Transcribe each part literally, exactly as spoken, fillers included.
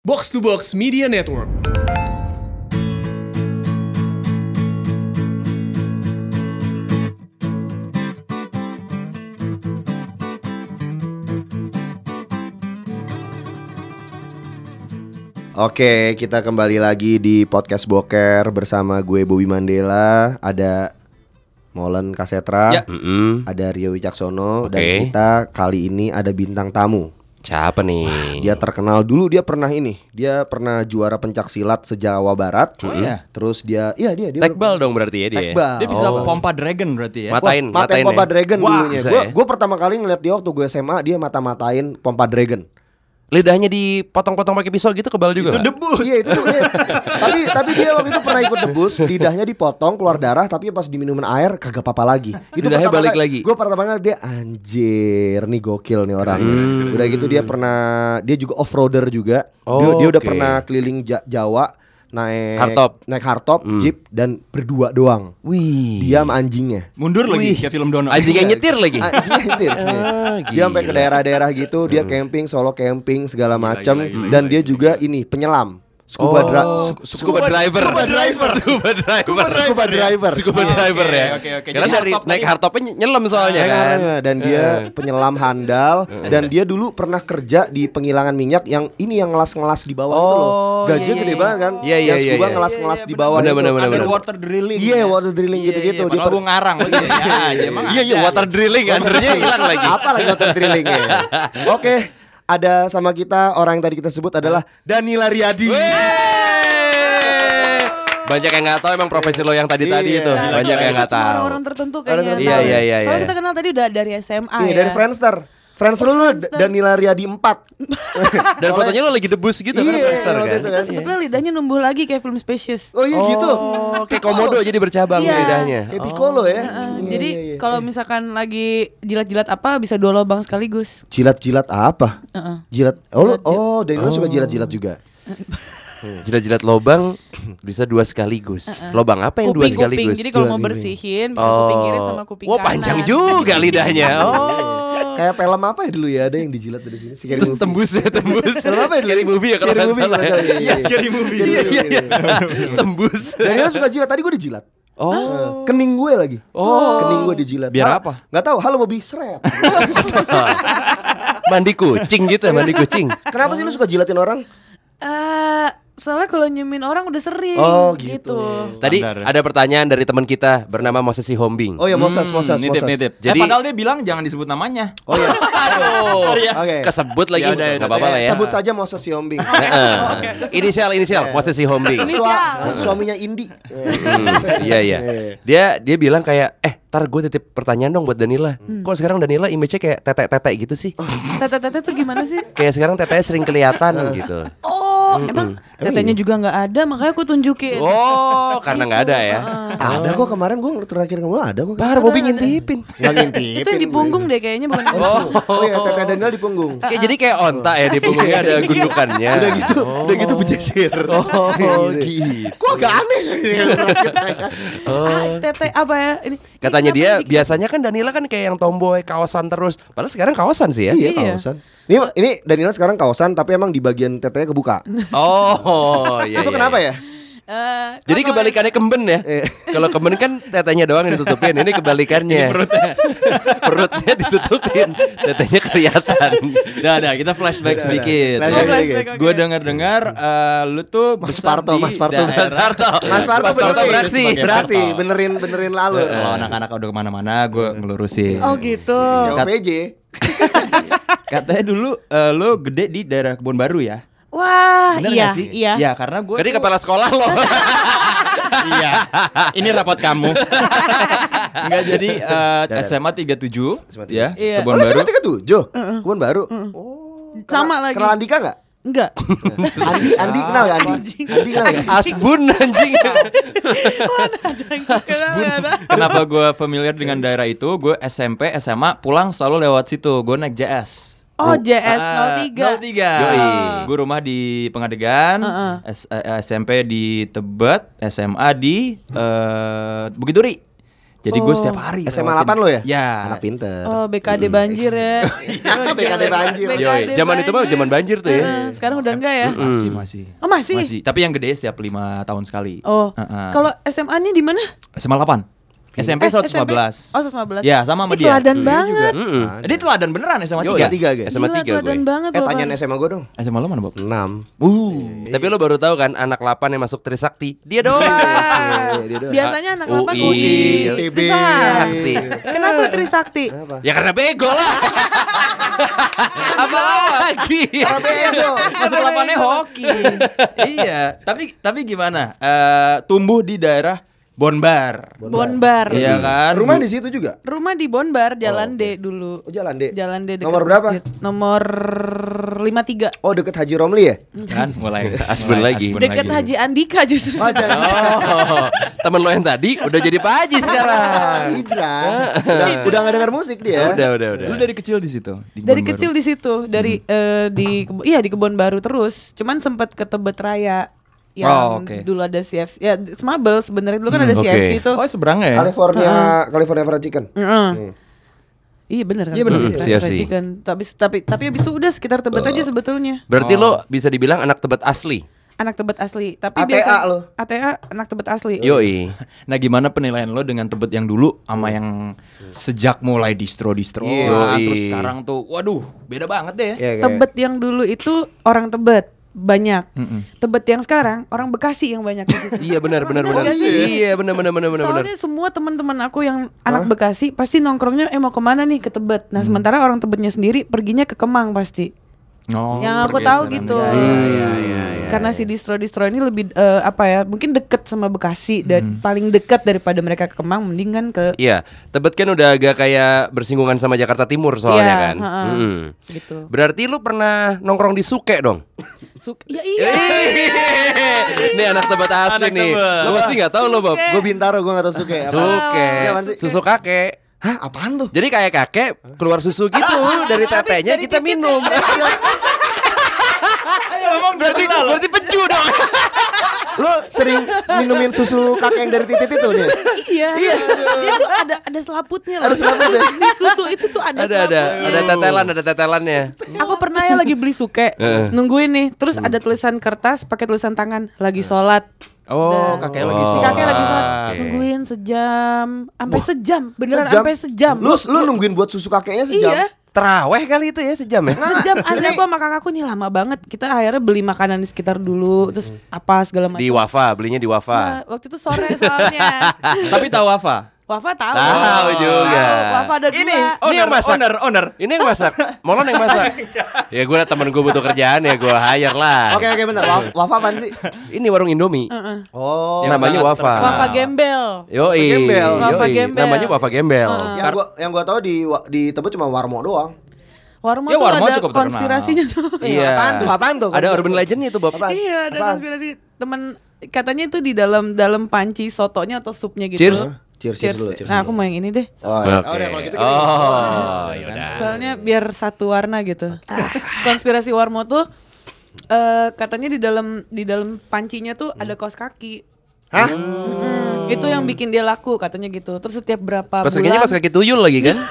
Box to Box Media Network. Oke, kita kembali lagi di Podcast Boker bersama gue Bobby Mandela, ada Molen Kasetra, ya. mm-hmm. ada Rio Wicaksono, okay. dan kita kali ini ada bintang tamu. Siapa nih? Wah, dia terkenal dulu, dia pernah ini, dia pernah juara pencak silat se-Jawa Barat. Oh iya. Terus dia, iya dia dia Tekbal dong berarti ya dia. Tekbal. Dia bisa Oh. pompa dragon berarti ya. Matain, Wah, matain matain pompa ya? dragon Wah, dulunya. bisa Gue ya? gue pertama kali ngeliat dia waktu gue S M A, dia mata-matain pompa dragon. Lidahnya dipotong-potong pakai pisau gitu kebal juga. Itu nggak? debus. Iya itu tuh. Iya. tapi tapi dia waktu itu pernah ikut debus, lidahnya dipotong keluar darah, tapi pas diminumin air kagak apa-apa lagi. Itu Lidahnya balik kali, lagi. Gue pertama kali dia anjir, nih gokil nih orang. Hmm. Udah gitu dia pernah, dia juga off-roader juga. Oh, dia, dia udah oke. pernah keliling Ja- Jawa naik Hardtop. naik hardtop, Hmm. jeep dan berdua doang. Wih. Dia sama anjingnya. Mundur lagi Wih. kayak film Dono. Anjing yang nyetir lagi. Anjingnya nyetir. Ah, Dia sampai ke gila. daerah-daerah gitu, dia camping, solo camping segala macam, gila, gila, dan dia juga ini penyelam, scuba dra- Oh, scu- scuba driver. scuba driver, Scuba driver. scuba driver, Scuba Iya. driver ya. Oke, oke. Karena Jadi dari hardtop naik tadi- hardtopnya ny- nyelam soalnya Ya kan. kan? Dan dia penyelam handal, dan dia dulu pernah kerja di penghilangan minyak yang ini yang ngelas-ngelas di bawah itu loh. Oh, Gajinya iya, gede iya. banget kan? Iya, iya, Yang iya, scuba iya. ngelas-ngelas Iya, di iya, bawah bener, itu. bener, bener, Ada bener. water drilling. Iya, water drilling gitu-gitu. Dia Dia per- gue ngarang lagi. Ya, ya, emang Iya, iya, ada. water drilling undernya hilang lagi. Apa lagi water drillingnya? Oke, ada sama kita orang yang tadi kita sebut adalah Danila Riyadi. Wey! Banyak yang nggak tahu emang profesi lo yang tadi-tadi Iya. itu. Gila, Banyak gila. yang nggak Cuma tahu. orang tertentu Orang kayaknya. tertentu. Iya, tahu. iya, iya, Soalnya iya. kita kenal tadi udah dari S M A Iya, ya. dari Friendster. Friendster lu Friendster. Danila Riyadi empat. Dan fotonya lo lagi debus gitu kan, Iya, Friendster waktu kan. itu Terus sebetulnya lidahnya numbuh lagi kayak film Species. Oh iya gitu. Oh, kayak komodo jadi bercabang Iya. lidahnya. Kayak Piccolo ya. Heeh, Iya, Jadi iya, iya. kalau misalkan lagi jilat-jilat apa bisa dua lubang sekaligus. Jilat-jilat apa? Heeh. Jilat. Oh, lu- Jilat-jilat. oh, Danila suka jilat-jilat juga. Jilat-jilat lobang bisa dua sekaligus. Lobang apa yang dua Kuping-kuping. sekaligus? Jadi kalau mau Kuping. bersihin bisa kuping kiri sama kuping Wah, kanan. panjang juga lidahnya. Oh. Kayak film apa ya dulu ya, ada yang dijilat dari sini. Scary Terus Movie. tembus ya, tembus. Film apa ya dulu? Scary movie ya kalau Scary nggak Movie, salah. kalau nggak salah. Iya, Scary Movie. Iya, iya, iya. Tembus. Danila suka jilat. Tadi gue dijilat. Oh. Kening gue lagi. Oh. Kening gue dijilat. Biar Ah, apa? Nggak tahu. Halo Bobby, seret. Mandi kucing gitu, mandi kucing. Kenapa sih lu suka jilatin orang? Eh, soalnya kalau nyemin orang udah sering. Oh, gitu. Tadi Standar. ada pertanyaan dari teman kita bernama Moses Hombing. Oh ya, Moses, Moses, nitip, Moses. nitip. Jadi- eh, padahal dia bilang jangan disebut namanya. Oh ya. Aduh. Oke. Kesebut lagi. Ya udah, ya Enggak udah. apa-apa lah ya. Sebut saja Moses Yombing. Heeh. Inisial inisial Moses Hombing. Sua- suaminya Indi. Hmm, Iya iya. Dia dia bilang kayak eh tar gue titip pertanyaan dong buat Danila. Kok sekarang Danila image-nya kayak tetek-tetek gitu sih? Tete-tete tuh gimana sih? Kayak sekarang tetenya sering kelihatan gitu. Oh, emang tetenya juga nggak ada, makanya aku tunjukin. Oh, karena nggak ada ya. Ada kok kemarin gue terakhir kamu ada kok. Bar Bobby ngintipin. Nggak ngintipin. Itu yang di punggung deh kayaknya bukan. Oh, Oh ya, Tete Daniel di punggung. kayak jadi kayak onta ya di punggungnya ada gundukannya. Udah gitu, udah gitu bejejer. Oh, gitu. Kok agak aneh ya. Ah, tete apa ya ini? Katanya ini dia kenapa biasanya kan Danila kan kayak yang tomboy kawasan terus. Padahal sekarang kawasan sih ya. Iya, Iya. kawasan. Ini ini Daniel sekarang kawasan tapi emang di bagian tetenya kebuka. Oh, iya. Itu iya, kenapa iya. ya? Eh, Jadi kalau- kebalikannya kemben ya. Kalau kemben kan tetenya doang yang ditutupin. Ini kebalikannya. perutnya. perutnya ditutupin, tetenya kelihatan. Udah, udah, kita flashback sedikit. Flashback Oh, sedikit. flashback, oke. Gue dengar-dengar eh, lu tuh Mas besar Parto, di Mas Parto, daerah- Mas Parto. Mas Parto, Mas Parto benerin. beraksi. Sebagai Beraksi, Parto. benerin benerin lalu. Kalau anak-anak udah kemana-mana, gue ngelurusin. Oh gitu. Yang P J. Katanya dulu eh, lu gede di daerah Kebun Baru ya? Wah, Bener iya, gak sih? iya. Ya, karena gue Jadi kepala sekolah loh. Iya. Ini rapot kamu. Enggak, jadi eh, Dan- S M A tiga puluh tujuh S M A ya, Iya. Oh, Kebun lu Baru. S M A tiga puluh tujuh? Kebun Baru. Oh. Sama Kenal- lagi. Kenal Andika enggak? Enggak. Andi, Andi kenal gak Andi? Andi kenal gak? Asbun anjing. Kenapa gue familiar dengan daerah itu? Gue S M P, S M A pulang selalu lewat situ. Gue naik J S. Oh, J S nol Ah, tiga. nol tiga. Yoi. Gue rumah di Pengadegan, Heeh. S- eh, S M P di Tebet, S M A di eh, Bukit Duri. Jadi gue Oh. setiap hari S M A lewatin. delapan lo ya? Ya. Anak pinter. Oh, B K D banjir ya. Iya, B K D banjir. Yoi, zaman itu mah zaman banjir tuh ya. Heeh, sekarang udah enggak ya? Masih masih. Oh, masih? Masih. Tapi yang gede setiap lima tahun sekali. Oh. Heeh. Kalau S M A-nya di mana? S M A delapan. S M P Eh, seratus lima belas. S M P? Oh, seratus lima belas. Ya, sama sama Ih, dia. teladan banget. Mm-mm. Dia teladan beneran S M A Yo, tiga. S M A tiga, guys. S M A Gila, tiga teladan gue. banget Eh loh, tanyain Bang. S M A gue dong. S M A lo mana, Bob? enam. Uh. Tapi lo baru tahu kan anak delapan yang masuk Trisakti. Dia doang. Iya, dia doang. Biasanya anak delapan U I, U I, I T B. Trisakti. Kenapa Trisakti? Kenapa? Ya karena bego lah. Apa lagi? Bego. Masuk delapannya hoki. Iya, tapi tapi gimana? Eh, tumbuh di daerah Bonbar. Bonbar. Iya kan? Rumah di situ juga. Rumah di Bonbar, Jalan Oh, D dulu. Oh, Jalan D. Jalan D dekat Nomor berapa? masjid. Nomor lima puluh tiga. Oh, deket Haji Romli ya? Kan mulai Asbun mulai lagi. asbun Dekat lagi. Haji Andika justru. Oh, Jalan Oh, temen lo yang tadi udah jadi Pak Haji sekarang. Hijrah. Udah udah enggak dengar musik dia. Udah, udah, udah. Lu dari kecil di situ. Di Dari Kebon kecil Baru. di situ, dari eh, di Kebo- iya di Kebon Baru terus. Cuman sempat ke Tebet Raya yang Oh, oke. dulu ada C F C. Ya, Smabel sebenarnya dulu kan Hmm, ada oke. C F C itu. Oh, seberangnya ya? California California Fried Chicken. Heeh. Iya benar kan. Iya, bener. Fried- Hmm, C F C. fried chicken. Tapi tapi tapi habis itu udah sekitar Tebet aja sebetulnya. Berarti Oh. lo bisa dibilang anak Tebet asli. Anak Tebet asli. Tapi A T A biasa lo. A T A anak Tebet asli. Yoi. Nah, gimana penilaian lo dengan Tebet yang dulu sama yang sejak mulai distro-distro Iya. terus Yoi. sekarang tuh waduh, beda banget deh ya. Iya, kayak- Tebet yang dulu itu orang Tebet banyak. Mm-mm. Tebet yang sekarang orang Bekasi yang banyak di situ. Iya benar benar benar. Bener gak sih? Iya benar benar benar benar benar. Soalnya semua teman-teman aku yang anak Bekasi pasti nongkrongnya eh mau kemana nih ke Tebet. Nah, sementara orang Tebetnya sendiri perginya ke Kemang pasti. Oh, yang aku tahu pergeseran. gitu. Iya, iya, iya, iya. Karena si distro-distro ini lebih eh, apa ya? Mungkin deket sama Bekasi dan paling dekat daripada mereka ke Kemang mending kan ke Iya, Tebet kan udah agak kayak bersinggungan sama Jakarta Timur soalnya Iya, kan. ha-ha. Mm-mm. gitu. Berarti lu pernah nongkrong di Suke dong? Suk ya iya. Nih anak Tebet asli Anak nih. Tebet. Lo pasti nggak tahu lo Bob. Gue Bintaro, gue gak tau suka apa. Suke, Apaan sih? susu kakek. Hah, apaan tuh? Jadi kayak kakek keluar susu gitu dari tetenya kita minum. berarti berarti peju dong. Lo sering minumin susu kakek yang dari titit itu nih? Iya. Dia tuh ada ada selaputnya loh. Ada selaputnya? Di susu itu tuh ada Ada ada selaputnya. ada tetelan ada tetelannya. Aku pernah ya lagi beli suke, nungguin nih, terus ada tulisan kertas pakai tulisan tangan, lagi sholat. Oh, Dan- kakek lagi Oh. Si sholat. kakek lagi sholat, Oke. nungguin sejam, sampai sejam, beneran Sejam? sampai sejam. Lu lu nungguin buat susu kakeknya sejam? Iya, Teraweh kali itu ya sejam ya. sejam. Asli aku sama kakakku nih lama banget. Kita akhirnya beli makanan di sekitar dulu, terus apa segala macam. Di Wafa, belinya di Wafa. Nah, waktu itu sore soalnya. Tapi tahu apa? Wafa tahu. Tahu juga. Tahu, Wafa ada Ini dua. Ini yang masak. owner, owner. Ini yang masak, Molon yang masak. Ya gue temen gue butuh kerjaan ya gue hire lah. Oke oke bentar. Wa- Wafa apaan sih? Ini warung Indomie. Oh, Yang namanya sangat Wafa. terkenal. Wafa gembel. Yoi. Gembel. Wafa Yoi. gembel. Namanya Wafa Gembel. yang gua yang gua tahu di wa- di Tebet cuma Warmo doang. Warmo Ya, tuh Warmo ada cukup terkenal. konspirasinya tuh. Iya. Apaan tuh? Apaan tuh? Ada urban legendnya tuh Bob. Apaan? Iya, ada Apaan? konspirasi temen katanya itu di dalam dalam panci sotonya atau supnya gitu. Cheers. Cheers, cheers dulu, cheers Nah, dulu. aku mau yang ini deh. Oh, ya. Oke. Oh, udah, kalau gitu kita- Oh, yaudah. Soalnya biar satu warna gitu. Konspirasi Warmo tuh eh katanya di dalam di dalam pancinya tuh ada kaos kaki. Hah? Mm, itu yang bikin dia laku katanya gitu. Terus setiap berapa Pas kakinya bulan pas kaki tuyul lagi kan?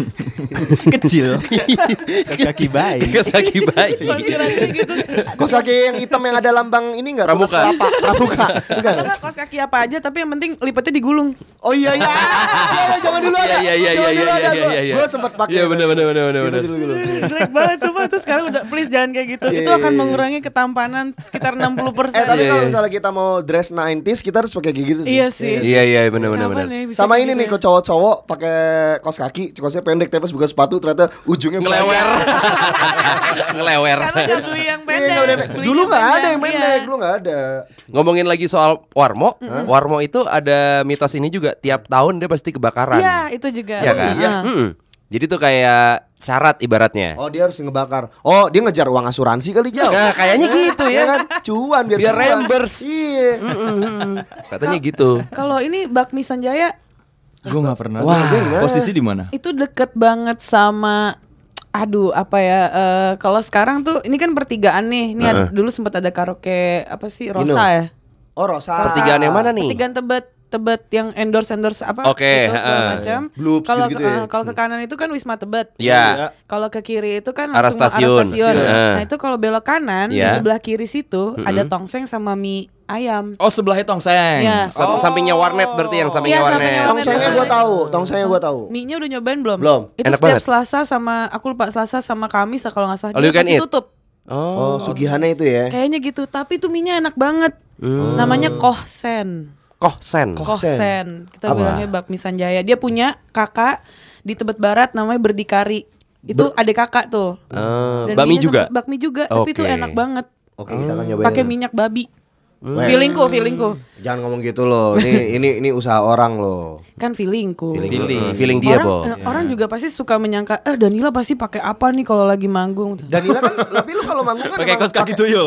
Kecil. Kaki bayi. Pas kaki bayi. konspirasi gitu. Kos kaki yang hitam yang ada lambang ini enggak? Pramuka. Kelapa. Pramuka. Bukan. Atau enggak kaos kaki apa aja tapi yang penting lipatnya digulung. Oh iya iya. Iya, zaman dulu ada. Iya iya iya Zaman iya dulu iya ada. iya iya. Gue sempat pakai. Iya benar benar benar benar Gitu benar. dulu dulu. Jelek banget sumpah. Terus sekarang udah please jangan kayak gitu. Iya, Itu iya, akan iya. mengurangi ketampanan sekitar enam puluh persen. Eh tapi Iya, kalau iya. misalnya kita mau dress nineties kita harus pakai kayak gitu sih. Iya sih. Iya iya benar benar benar. Kapan ya bisa Sama kayak ini gitu nih ya? ke cowok-cowok pakai kaos kaki, kaosnya pendek tapi pas buka sepatu ternyata ujungnya Ngelewer. Ngelewer. Karena gak beli yang Iya, pendek. nggak udah- Belinya dulu nggak ada panjang, yang iya. pendek, dulu nggak ada. Ngomongin lagi soal Warmo, Warmo itu ada mitos ini juga tiap tahun dia pasti kebakaran. Iya itu juga. Iya kan? Iya. Mm-mm. Jadi tuh kayak syarat ibaratnya. Oh dia harus ngebakar. Oh dia ngejar uang asuransi kali jauh. Nah, kayaknya gitu Iya ya. kan? Cuan biar Biar cuan. reimburse. Iya. Katanya gitu. Kalau ini Bakmi Sanjaya Gue nggak pernah. Wah. Posisi di mana? itu deket banget sama aduh apa ya eh, kalau sekarang tuh ini kan pertigaan nih. Ini ada- dulu sempat ada karaoke apa sih Rosa Gino. ya? Oh Rosa. Pertigaan yang mana nih? Pertigaan Tebet. Tebet yang endorse endorse apa? Oke, itu segala heeh. macam. Bloops Kalau gitu-gitu ya. eh, kalau ke kanan itu kan Wisma Tebet. Ya. Kalau ke kiri itu kan Arah langsung stasiun. arah stasiun. Heeh. Nah itu kalau belok kanan di Ya. sebelah kiri situ ada tongseng sama mie ayam. Oh sebelahnya tongseng. Iya. Sa- Sampingnya warnet berarti yang sampingnya Iya, warnet. sampingnya Tongsengnya gue tahu, tongsengnya gue tahu. Mie-nya udah nyobain belum? Belum. Itu Enak setiap banget. Selasa sama aku lupa Selasa sama Kamis kalau nggak salah All dia you can pasti eat? tutup. Oh. Oh, Sugihana itu ya. Kayaknya gitu, tapi tuh mie-nya enak banget. Hmm. Namanya Kohsen. Kohsen. Kohsen. Kita Apa? bilangnya bakmi Sanjaya. Dia punya kakak di Tebet Barat namanya Berdikari. Itu adik kakak tuh. Eh, Dan bakmi mie-nya juga. sama- Bakmi juga, tapi itu Oke. enak banget. Oke, kita akan nyobain. Pakai itu. minyak babi. Weh. Feelingku, feelingku. Jangan ngomong gitu loh. Ini ini ini usaha orang loh. Kan feelingku. Feeling, feeling dia, orang, Bo. eh, orang juga pasti suka menyangka, eh Danila pasti pakai apa nih kalau lagi manggung. Danila kan, tapi lu kalau manggung kan Pakai emang kaos kaki pakai- tuyul.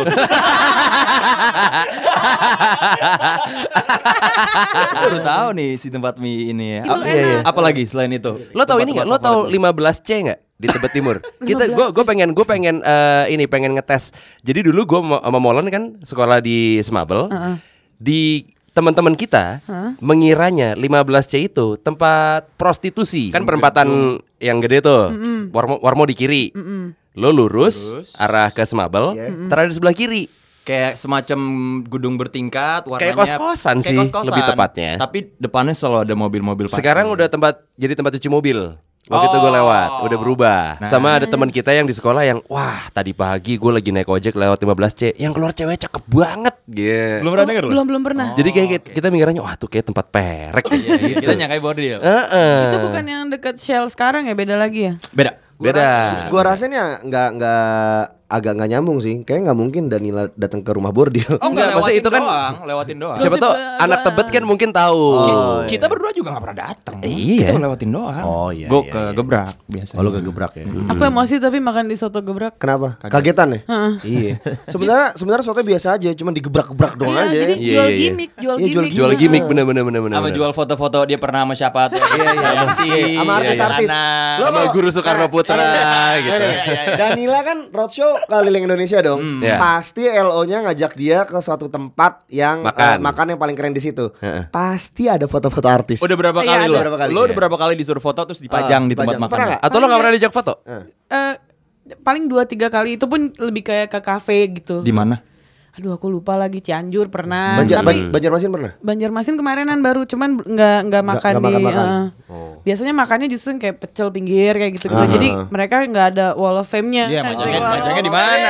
Baru tahu nih si tempat mie ini ya. Itu Apa- enak. iya, iya. Apalagi selain itu? Lo tau ini nggak? Lo tau lima belas C nggak di Tebet Timur? Kita, gue gue pengen gue pengen eh, ini pengen ngetes. Jadi dulu gue sama Molen kan sekolah di Semabel. Di teman-teman kita mengiranya lima belas C itu tempat prostitusi. Kan perempatan yang gede tuh. Warmo, Warmo di kiri. Lo lurus, arah ke Semabel, ntar ada di sebelah kiri. Kayak semacam gedung bertingkat, warnanya Kayak kos-kosan kayak sih, kos-kosan. lebih tepatnya. Tapi depannya selalu ada mobil-mobil parkir. Sekarang udah tempat jadi tempat cuci mobil. Waktu itu gue lewat, udah berubah. Nah. Sama ada teman kita yang di sekolah yang, wah tadi pagi gue lagi naik ojek lewat lima belas C, yang keluar cewek cakep banget. Gitu. belum pernah denger loh. Belum belum pernah. Jadi kayak kita- kita mikirnya, wah tuh kayak tempat perek. Iya, iya, kita nyangkai bordil. Heeh. Itu bukan yang deket Shell sekarang ya, beda lagi ya? Beda. Beda. Gua rasanya nggak nggak agak nggak nyambung sih. Kayaknya nggak mungkin Danila datang ke rumah bordil. Oh enggak, maksudnya itu kan doang, lewatin doang. siapa tuh Gosip, anak gua- Tebet kan mungkin tahu. Oh, iya. Kita berdua juga gak pernah datang. Iya. Kita lewatin doang. Oh, iya, Gue iya, ke iya. gebrak biasanya. Oh, lu kegebrak ya. Aku emosi tapi makan di soto gebrak. Kenapa? Kagetan ya? Iya. Sebenarnya sebenarnya soto biasa aja, cuma digebrak-gebrak doang Iya, aja. jadi Iya, jual iya, iya. gimmick, jual Iya, jual gimmick. Jual gimmick bener bener bener bener. Sama bener. jual foto-foto dia pernah sama siapa tuh. Iya, iya, Sama artis-artis. Anak. Lo Sama kalau- Guru Soekarno Putra gitu. Danila kan roadshow keliling Indonesia dong. Iya. Pasti L O-nya ngajak dia ke suatu tempat yang Makan. eh, makan yang paling keren di situ. Heeh. Pasti ada foto-foto artis. Udah berapa Iya, kali ada lo? berapa kali, Lo iya. udah berapa kali disuruh foto terus dipajang Ah, di tempat dipajang. makan? Pernah nggak? Atau lo nggak pernah diajak foto? Eh, paling dua tiga kali itu pun lebih kayak ke kafe gitu. Di mana? Aduh aku lupa lagi, Cianjur pernah. Banjar, tapi Ban- Banjarmasin pernah? Banjarmasin kemarinan baru, cuman nggak nggak makan nggak di. makan-makan. eh, Oh. Biasanya makannya justru yang kayak pecel pinggir kayak gitu gitu. Aha. Jadi mereka nggak ada wall of fame-nya. Iya, majangnya, majangnya di mana?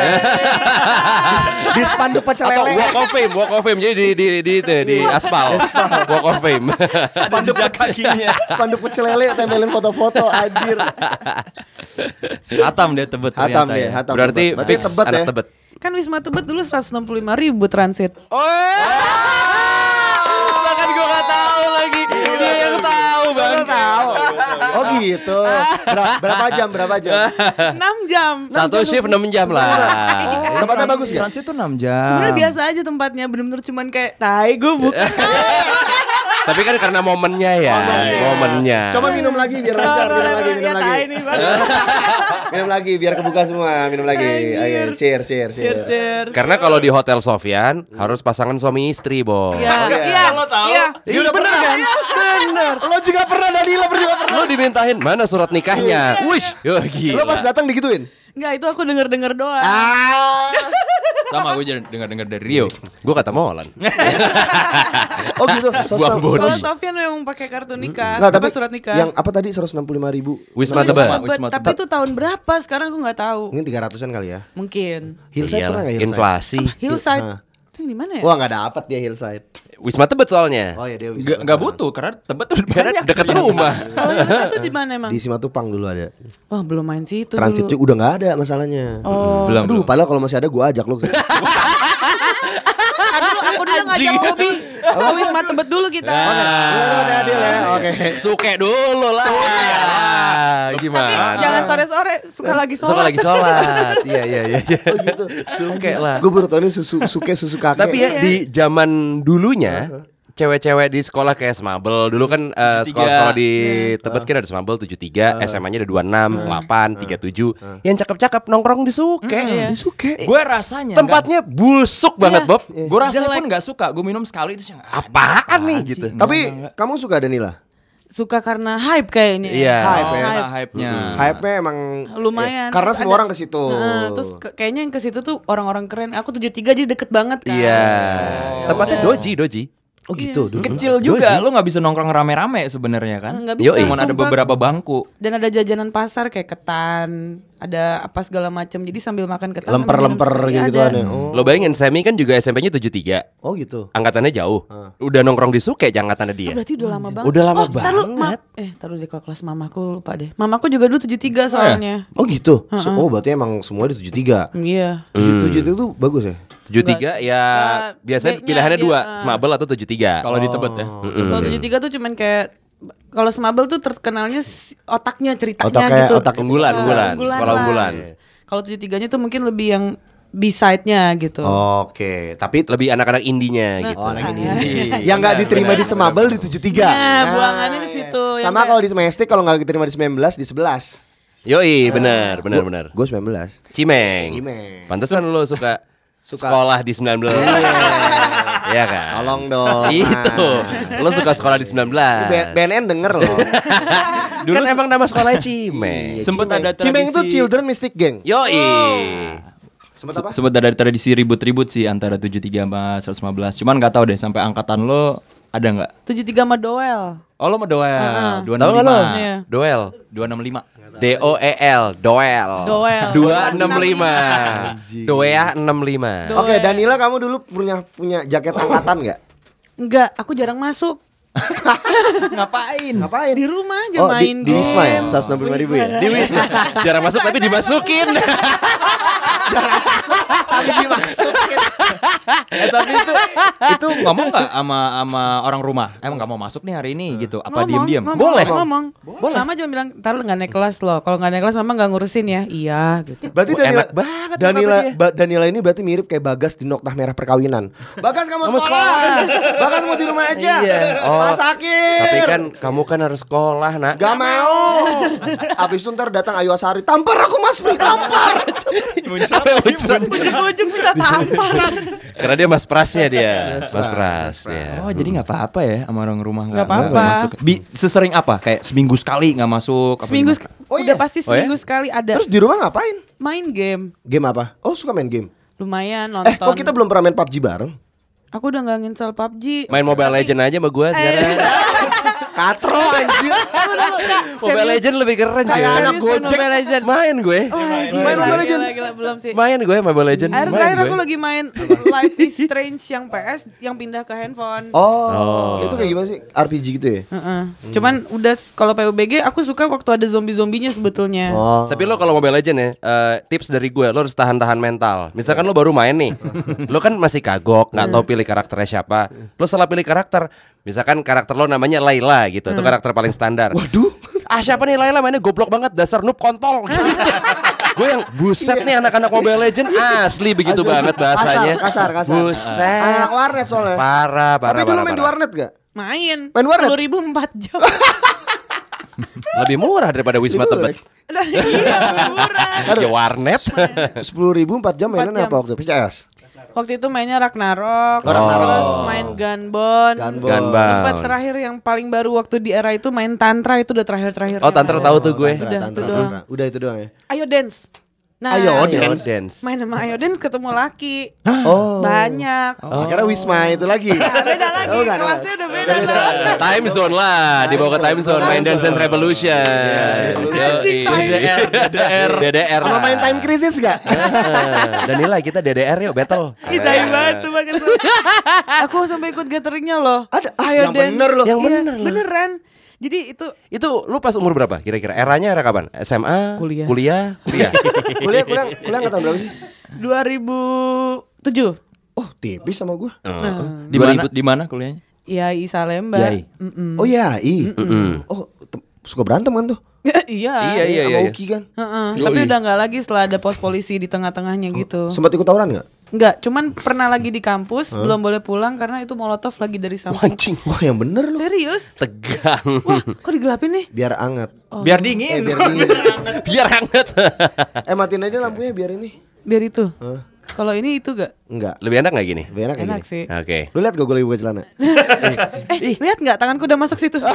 Di spanduk pecel Atau lele. Walk of Fame, Walk of Fame jadi di di di di, di aspal. Walk of Fame. Spanduk kakinya. Spanduk pecel lele tempelin foto-foto anjir. Hatam dia Tebet ternyata Hatam deh, ya. hatam. Berarti Tebet. fix Tebet anak ya. Tebet. Kan Wisma Tebet dulu seratus enam puluh lima ribu transit. Oh, bahkan gue gak tahu lagi. Dia yang tahu bang. Tahu. Oh gitu. Ber- berapa jam? Berapa jam? enam jam. Satu shift enam jam lah. Tempatnya bagus ya? Transit tuh enam jam. Sebenarnya biasa aja tempatnya, bener-bener cuman kayak tai gue bukan. Tapi kan karena momennya ya, momennya. Coba minum lagi biar lancar, minum lagi, minum Ya, lagi. tai nih, Bang. Minum lagi biar kebuka semua, minum lagi. Ayo, cheers, cheers, cheers. Cheers. Karena kalau di Hotel Sofyan harus pasangan suami istri, Bo. Iya, iya. iya, iya. Dia udah pernah kan? Bener. Lo juga pernah, Danila juga pernah. Lo dimintain mana surat nikahnya? Wish, yo gila. Lo pas datang digituin? Enggak, itu aku denger-denger doang. Ah. Sama gue dengar-dengar dari Rio. Gue kata Molan. Oh gitu. Buang bonus. Soalnya Sofyan memang pakai kartu nikah, Nggak, apa tapi surat nikah. yang apa tadi seratus enam puluh lima ribu? Wisma Wisma Tebet. Tebet. Wisma Tapi Tebet. itu tahun berapa? Sekarang aku nggak tahu. Mungkin tiga ratusan kali ya. Mungkin. Hillside Iyalah, pernah nggak Hillside? inflasi. Hillside. Ah. Itu yang di mana ya? Wah nggak dapet dia Hillside. Wisma Tebet soalnya. Oh ya dia Gak, gak butuh karena Tebet tuh Karena banyak. deket rumah. Kalau Hillside itu di mana emang? Di Simatupang dulu ada. Wah, belum main sih itu Transitnya dulu. udah nggak ada masalahnya. Oh. Belum. Aduh, padahal kalau masih ada gue ajak lo. Kan dulu aku dulu ngajak Bobby ke Wisma Tebet dulu kita. Ada adil ya. Oke. Suke dulu lah. Tapi Gimana? jangan sore-sore, suka lagi sholat. Suka lagi sholat. Iya iya iya. iya. Oh gitu. Suke lah. Gue baru tau ini susu suke susu kakek. Tapi ya di zaman dulunya cewek-cewek di sekolah kayak Smabel. Dulu kan uh, sekolah-sekolah di Tebet kan ada Smabel tujuh puluh tiga, S M A-nya ada dua puluh enam, delapan, tiga puluh tujuh. Yang cakep-cakep nongkrong di Suke. Di Suke. Gue rasanya Tempatnya busuk banget, Bob. gue rasanya pun nggak suka. Gue minum sekali itu Apaan nih gitu. Tapi kamu suka Danila? Suka karena hype kayaknya. Iya. Hype ya. Hype. hype-nya. Hype-nya emang Lumayan. ya, karena Terus semua ada- orang ke situ. Heeh, terus ke- kayaknya yang ke situ tuh orang-orang keren. Aku tujuh puluh tiga jadi deket banget kan. Iya. Oh. Tempatnya doji, doji. Oh gitu. dulu. Kecil juga, lu nggak bisa nongkrong rame-rame sebenarnya kan. Nggak bisa, Cuman ada sumpah. beberapa bangku. Dan ada jajanan pasar kayak ketan, ada apa segala macam. Jadi sambil makan ketan sambil Lemper-lemper minum susu, gitu ada. kan ya. Oh. Lo bayangin Semi kan juga S M P-nya tujuh puluh tiga. Oh gitu. Angkatannya jauh. Udah nongkrong di Suke angkatannya Oh, dia. berarti udah lama banget. Udah lama oh, taruh, banget. eh, taruh di kelas mamaku lupa deh. Mamaku juga dulu tujuh puluh tiga soalnya. Oh gitu. So- oh berarti emang semua di tujuh puluh tiga. Iya. tujuh puluh tiga itu bagus ya? tujuh puluh tiga ya Uh, biasanya B-nya pilihannya dia, dua, uh. Smabel atau tujuh puluh tiga. Kalau di Tebet ya. Kalau tujuh puluh tiga tuh cuman kayak kalau Smabel tuh terkenalnya si- otaknya ceritanya Otak kayak gitu. otak unggulan, Uh, unggulan, sekolah lah. unggulan. Kalau tujuh puluh tiganya tuh mungkin lebih yang B-side-nya gitu. Oke, tapi Lebih anak-anak indinya gitu. oh anak ini. Yang nggak diterima di Semabel di tujuh puluh tiga. Nah, buangannya di situ. yang Sama kayak- kalau di Semestik kalau nggak diterima di sembilan belas di sebelas. Yoi, benar, benar, benar. Gue sembilan belas. Cimeng. Cimeng. Pantesan lo suka Suka. sekolah di sembilan belas. Iya kan? Tolong dong. Itu. Lo suka sekolah di sembilan belas. B- BNN denger loh. Dulu kan emang nama sekolahnya Cimeng. Sempet ada Cimeng itu tradisi- Children Mystic Gang. Yoi. Sempet apa? Sempat ada tradisi ribut-ribut sih antara tujuh puluh tiga sama seratus lima belas. Cuman nggak tahu deh sampai angkatan lo ada nggak? tujuh puluh tiga sama Doel. Oh lo mau Doel dua Tahu enam nggak lo? lima. Iya. Doel. dua enam lima. D O E L, Doel. Doel. dua enam lima. Doea enam lima. Do- Oke, Danila kamu dulu punya punya jaket angkatan nggak? Enggak, aku jarang masuk. Ngapain? Ngapain? Di rumah aja Oh, di, main di Wisma ya? game. seratus enam puluh lima ribu ya? Di Wisma. Jarang masuk tapi dimasukin. Tapi dimasukin. Eh tapi itu itu ngomong nggak sama sama orang rumah? Emang nggak mau masuk nih hari ini gitu? Apa Ngomong, diem-diem? ngomong, Boleh. ngomong. Boleh. Mama cuma bilang, "Taruh nggak naik kelas loh. Kalau nggak naik kelas mama nggak ngurusin ya." Iya gitu. Berarti Wah, Danila, enak banget Danila, kenapa dia? ba- Danila ini berarti mirip kayak Bagas di Noktah Merah Perkawinan. Bagas kamu sekolah. Bagas mau di rumah aja. Iya. Oh, Malah sakit. Tapi kan kamu kan harus sekolah, Nak. Gak mau. Abis itu ntar datang Ayu Asari, tampar aku Mas Pri, tampar. Ujung-ujung kita tampar. Karena dia mas prasnya dia. Mas pras. ya. Oh jadi nggak apa-apa ya sama orang rumah Nggak apa-apa. nggak masuk. Bi sesering apa? Kayak seminggu sekali nggak masuk. apa Seminggu gimana? sek- Oh udah iya? pasti Oh ya? seminggu sekali ada Terus di rumah ngapain? main game. Game apa? Oh suka main game. Lumayan Eh nonton. kok kita belum pernah main P U B G bareng? Aku udah nggak nginstal P U B G. Main Mobile Legend aja sama gua sekarang. Katro anjir. Mobile Legend lebih keren Kayak cuy. anak Gojek. Mobile Legend. Main gue. Wah, gila, Main Mobile gila, Legend. gila, gila, belum sih. Main gue Mobile Legend. Akhir Main terakhir gue. aku lagi main Life is Strange yang P S yang pindah ke handphone. Oh, itu kayak gimana sih? R P G gitu ya? Heeh. Cuman udah kalau P U B G aku suka waktu ada zombie-zombinya sebetulnya. Oh. Tapi lo kalau Mobile Legend ya, eh, tips dari gue, lo harus tahan-tahan mental. Misalkan lo baru main nih, lo kan masih kagok, nggak tahu pilih karakternya siapa. Lo salah pilih karakter, misalkan karakter lo namanya Layla gitu, itu karakter paling standar. Waduh. Ah siapa nih Layla mainnya goblok banget, dasar noob kontol. Gue yang buset nih anak-anak Mobile Legend asli begitu Asli. banget bahasanya. Kasar, kasar, kasar. Buset. Anak warnet soalnya. Parah, parah, Tapi dulu parah, main di parah. warnet gak? Main. Main warnet? sepuluh ribu empat jam. Lebih murah daripada Wisma Lebih Tebet. Iya, murah. Ya warnet. Sepuluh ribu empat jam mainan Empat jam. apa waktu itu? P C S? Waktu itu mainnya Ragnarok, Oh, Ragnarok. terus main Gunbound. Gunbound. Gunbound. Sempat terakhir yang paling baru waktu di era itu main Tantra, itu udah terakhir-terakhir. Oh, Tantra tahu tuh gue. Tantra, Udah, tantra, itu doang. tantra. Udah itu doang ya. Ayo dance. Nah, Ayo Dance, dance. dance. main sama Ayo dance ketemu laki. Oh. Banyak. Oh. Akhirnya Wisma itu lagi. Nah, beda lagi, Oh, enggak, kelasnya udah beda tuh. Time zone lah, dibawa ke time zone, main Dance Dance Revolution. Anjing, Yoi. time. D D R, D D R, D D R. Sama main time crisis gak? Danila kita D D R yuk battle. Ih, tai banget sumpah kesel. Aku sampai ikut gatheringnya loh. Ada. Ah, Ayo yang dance. bener loh. Yang Iya, bener loh. beneran. Jadi itu Itu lu pas umur berapa kira-kira? Eranya era kapan? S M A? Kuliah. Kuliah? Kuliah. Kuliah, kuliah, kuliah angkatan berapa sih? dua ribu tujuh. Oh tipis sama gue. Nah, Di mana? Di mana kuliahnya? Yai Salemba. Yai. Mm-mm. Oh iya, i. Oh te- suka berantem kan tuh? Iya. Iya iya Sama iya. Uki kan? Heeh, tapi udah nggak lagi setelah ada pos polisi di tengah-tengahnya gitu. Sempat ikut tawuran gak? Enggak, cuman pernah lagi di kampus, huh? belum boleh pulang karena itu molotov lagi dari samping. Anjing, wah yang bener lu. Serius? Tegang. Wah, kok digelapin nih? Biar anget. Oh. Biar dingin. Eh, biar dingin. Biar hangat. Eh matiin aja lampunya biar ini. Biar itu. Huh? Kalau ini itu gak? Enggak. Lebih enak gak gini? Lebih enak, Enak gini. sih. Oke. Okay. Lu lihat gak gue lagi buka celana? eh, lihat nggak tanganku udah masuk situ?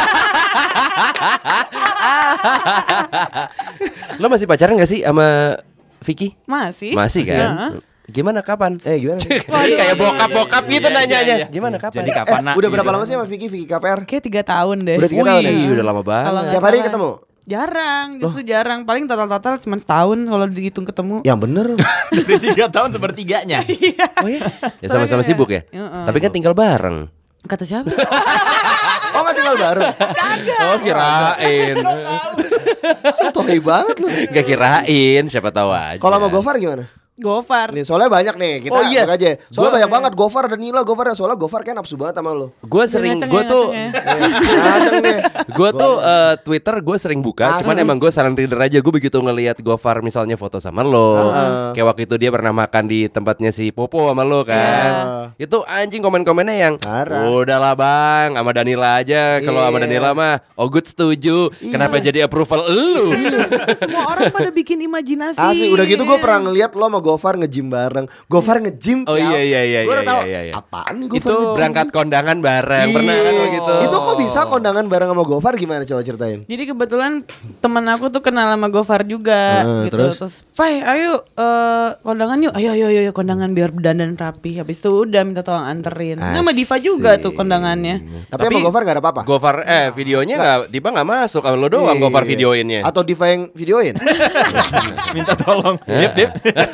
Lo masih pacaran gak sih sama Vicky? Masih. Masih kan? Ya. Gimana kapan? Eh gimana? Kayak bokap-bokap gitu Iya, nanyanya. iya, iya. Gimana kapan? Jadi kapan Eh, nak? udah berapa Gitu. lama sih sama Vicky, Vicky K P R? Kayak tiga tahun deh. Udah tiga tahun ya? Wih, udah lama Kalau banget. nggak Tiap hari salah. ketemu? Jarang, justru jarang. Paling total-total cuma setahun kalau dihitung ketemu. Yang bener. Dari tiga tahun sepertiganya. Oh iya? Ya sama-sama sibuk ya? Heeh. Tapi kan tinggal bareng. Kata siapa? Oh nggak tinggal bareng? Oh kirain. Sotoy banget lu. Gak kirain, siapa tahu aja. Kalau sama Gofar gimana? Gofar. Nih soalnya banyak nih kita Oh, iya. buka aja. Soalnya Gua- banyak banget Gofar dan Nila, Gofar soalnya Gofar kan nafsu banget sama lu. Gue sering, Ngaceng gue ya, tuh, ngaceng ya. Ngaceng nih. gue tuh eh, Twitter gue sering buka. Asli. Cuman emang gue silent reader aja. Gue begitu ngelihat Gofar misalnya foto sama lo, kayak waktu itu dia pernah makan di tempatnya si Popo sama lo kan. Itu anjing komen-komennya yang, Parah. udahlah bang, sama Danila aja. Kalau sama Iya. Danila mah, oh good setuju. Kenapa jadi approval elu? Semua orang pada bikin imajinasi. Asli udah gitu gue pernah ngeliat lo sama Gofar nge-gym bareng. Gofar nge-gym. Oh iya iya iya Gue iya, udah tahu iya, iya. apaan nih Gofar Itu nge-gym? berangkat kondangan bareng. Pernah kan Iya. lo gitu? Itu kok bisa kondangan bareng sama Gofar gimana coba ceritain? Jadi kebetulan teman aku tuh kenal sama Gofar juga Heeh, gitu. terus? Terus, "Fai, ayo eh, kondangan yuk. Ayo ayo ayo ayo, kondangan biar dandan rapi." Habis itu udah minta tolong anterin. Nah, sama Diva juga tuh kondangannya. Tapi, Tapi- sama Gofar gak ada apa-apa? Gofar eh videonya nggak, Diba nggak masuk. Kalau lo doang Iya. Gofar videoinnya. Atau Diva yang videoin? Minta tolong. Dip, dip.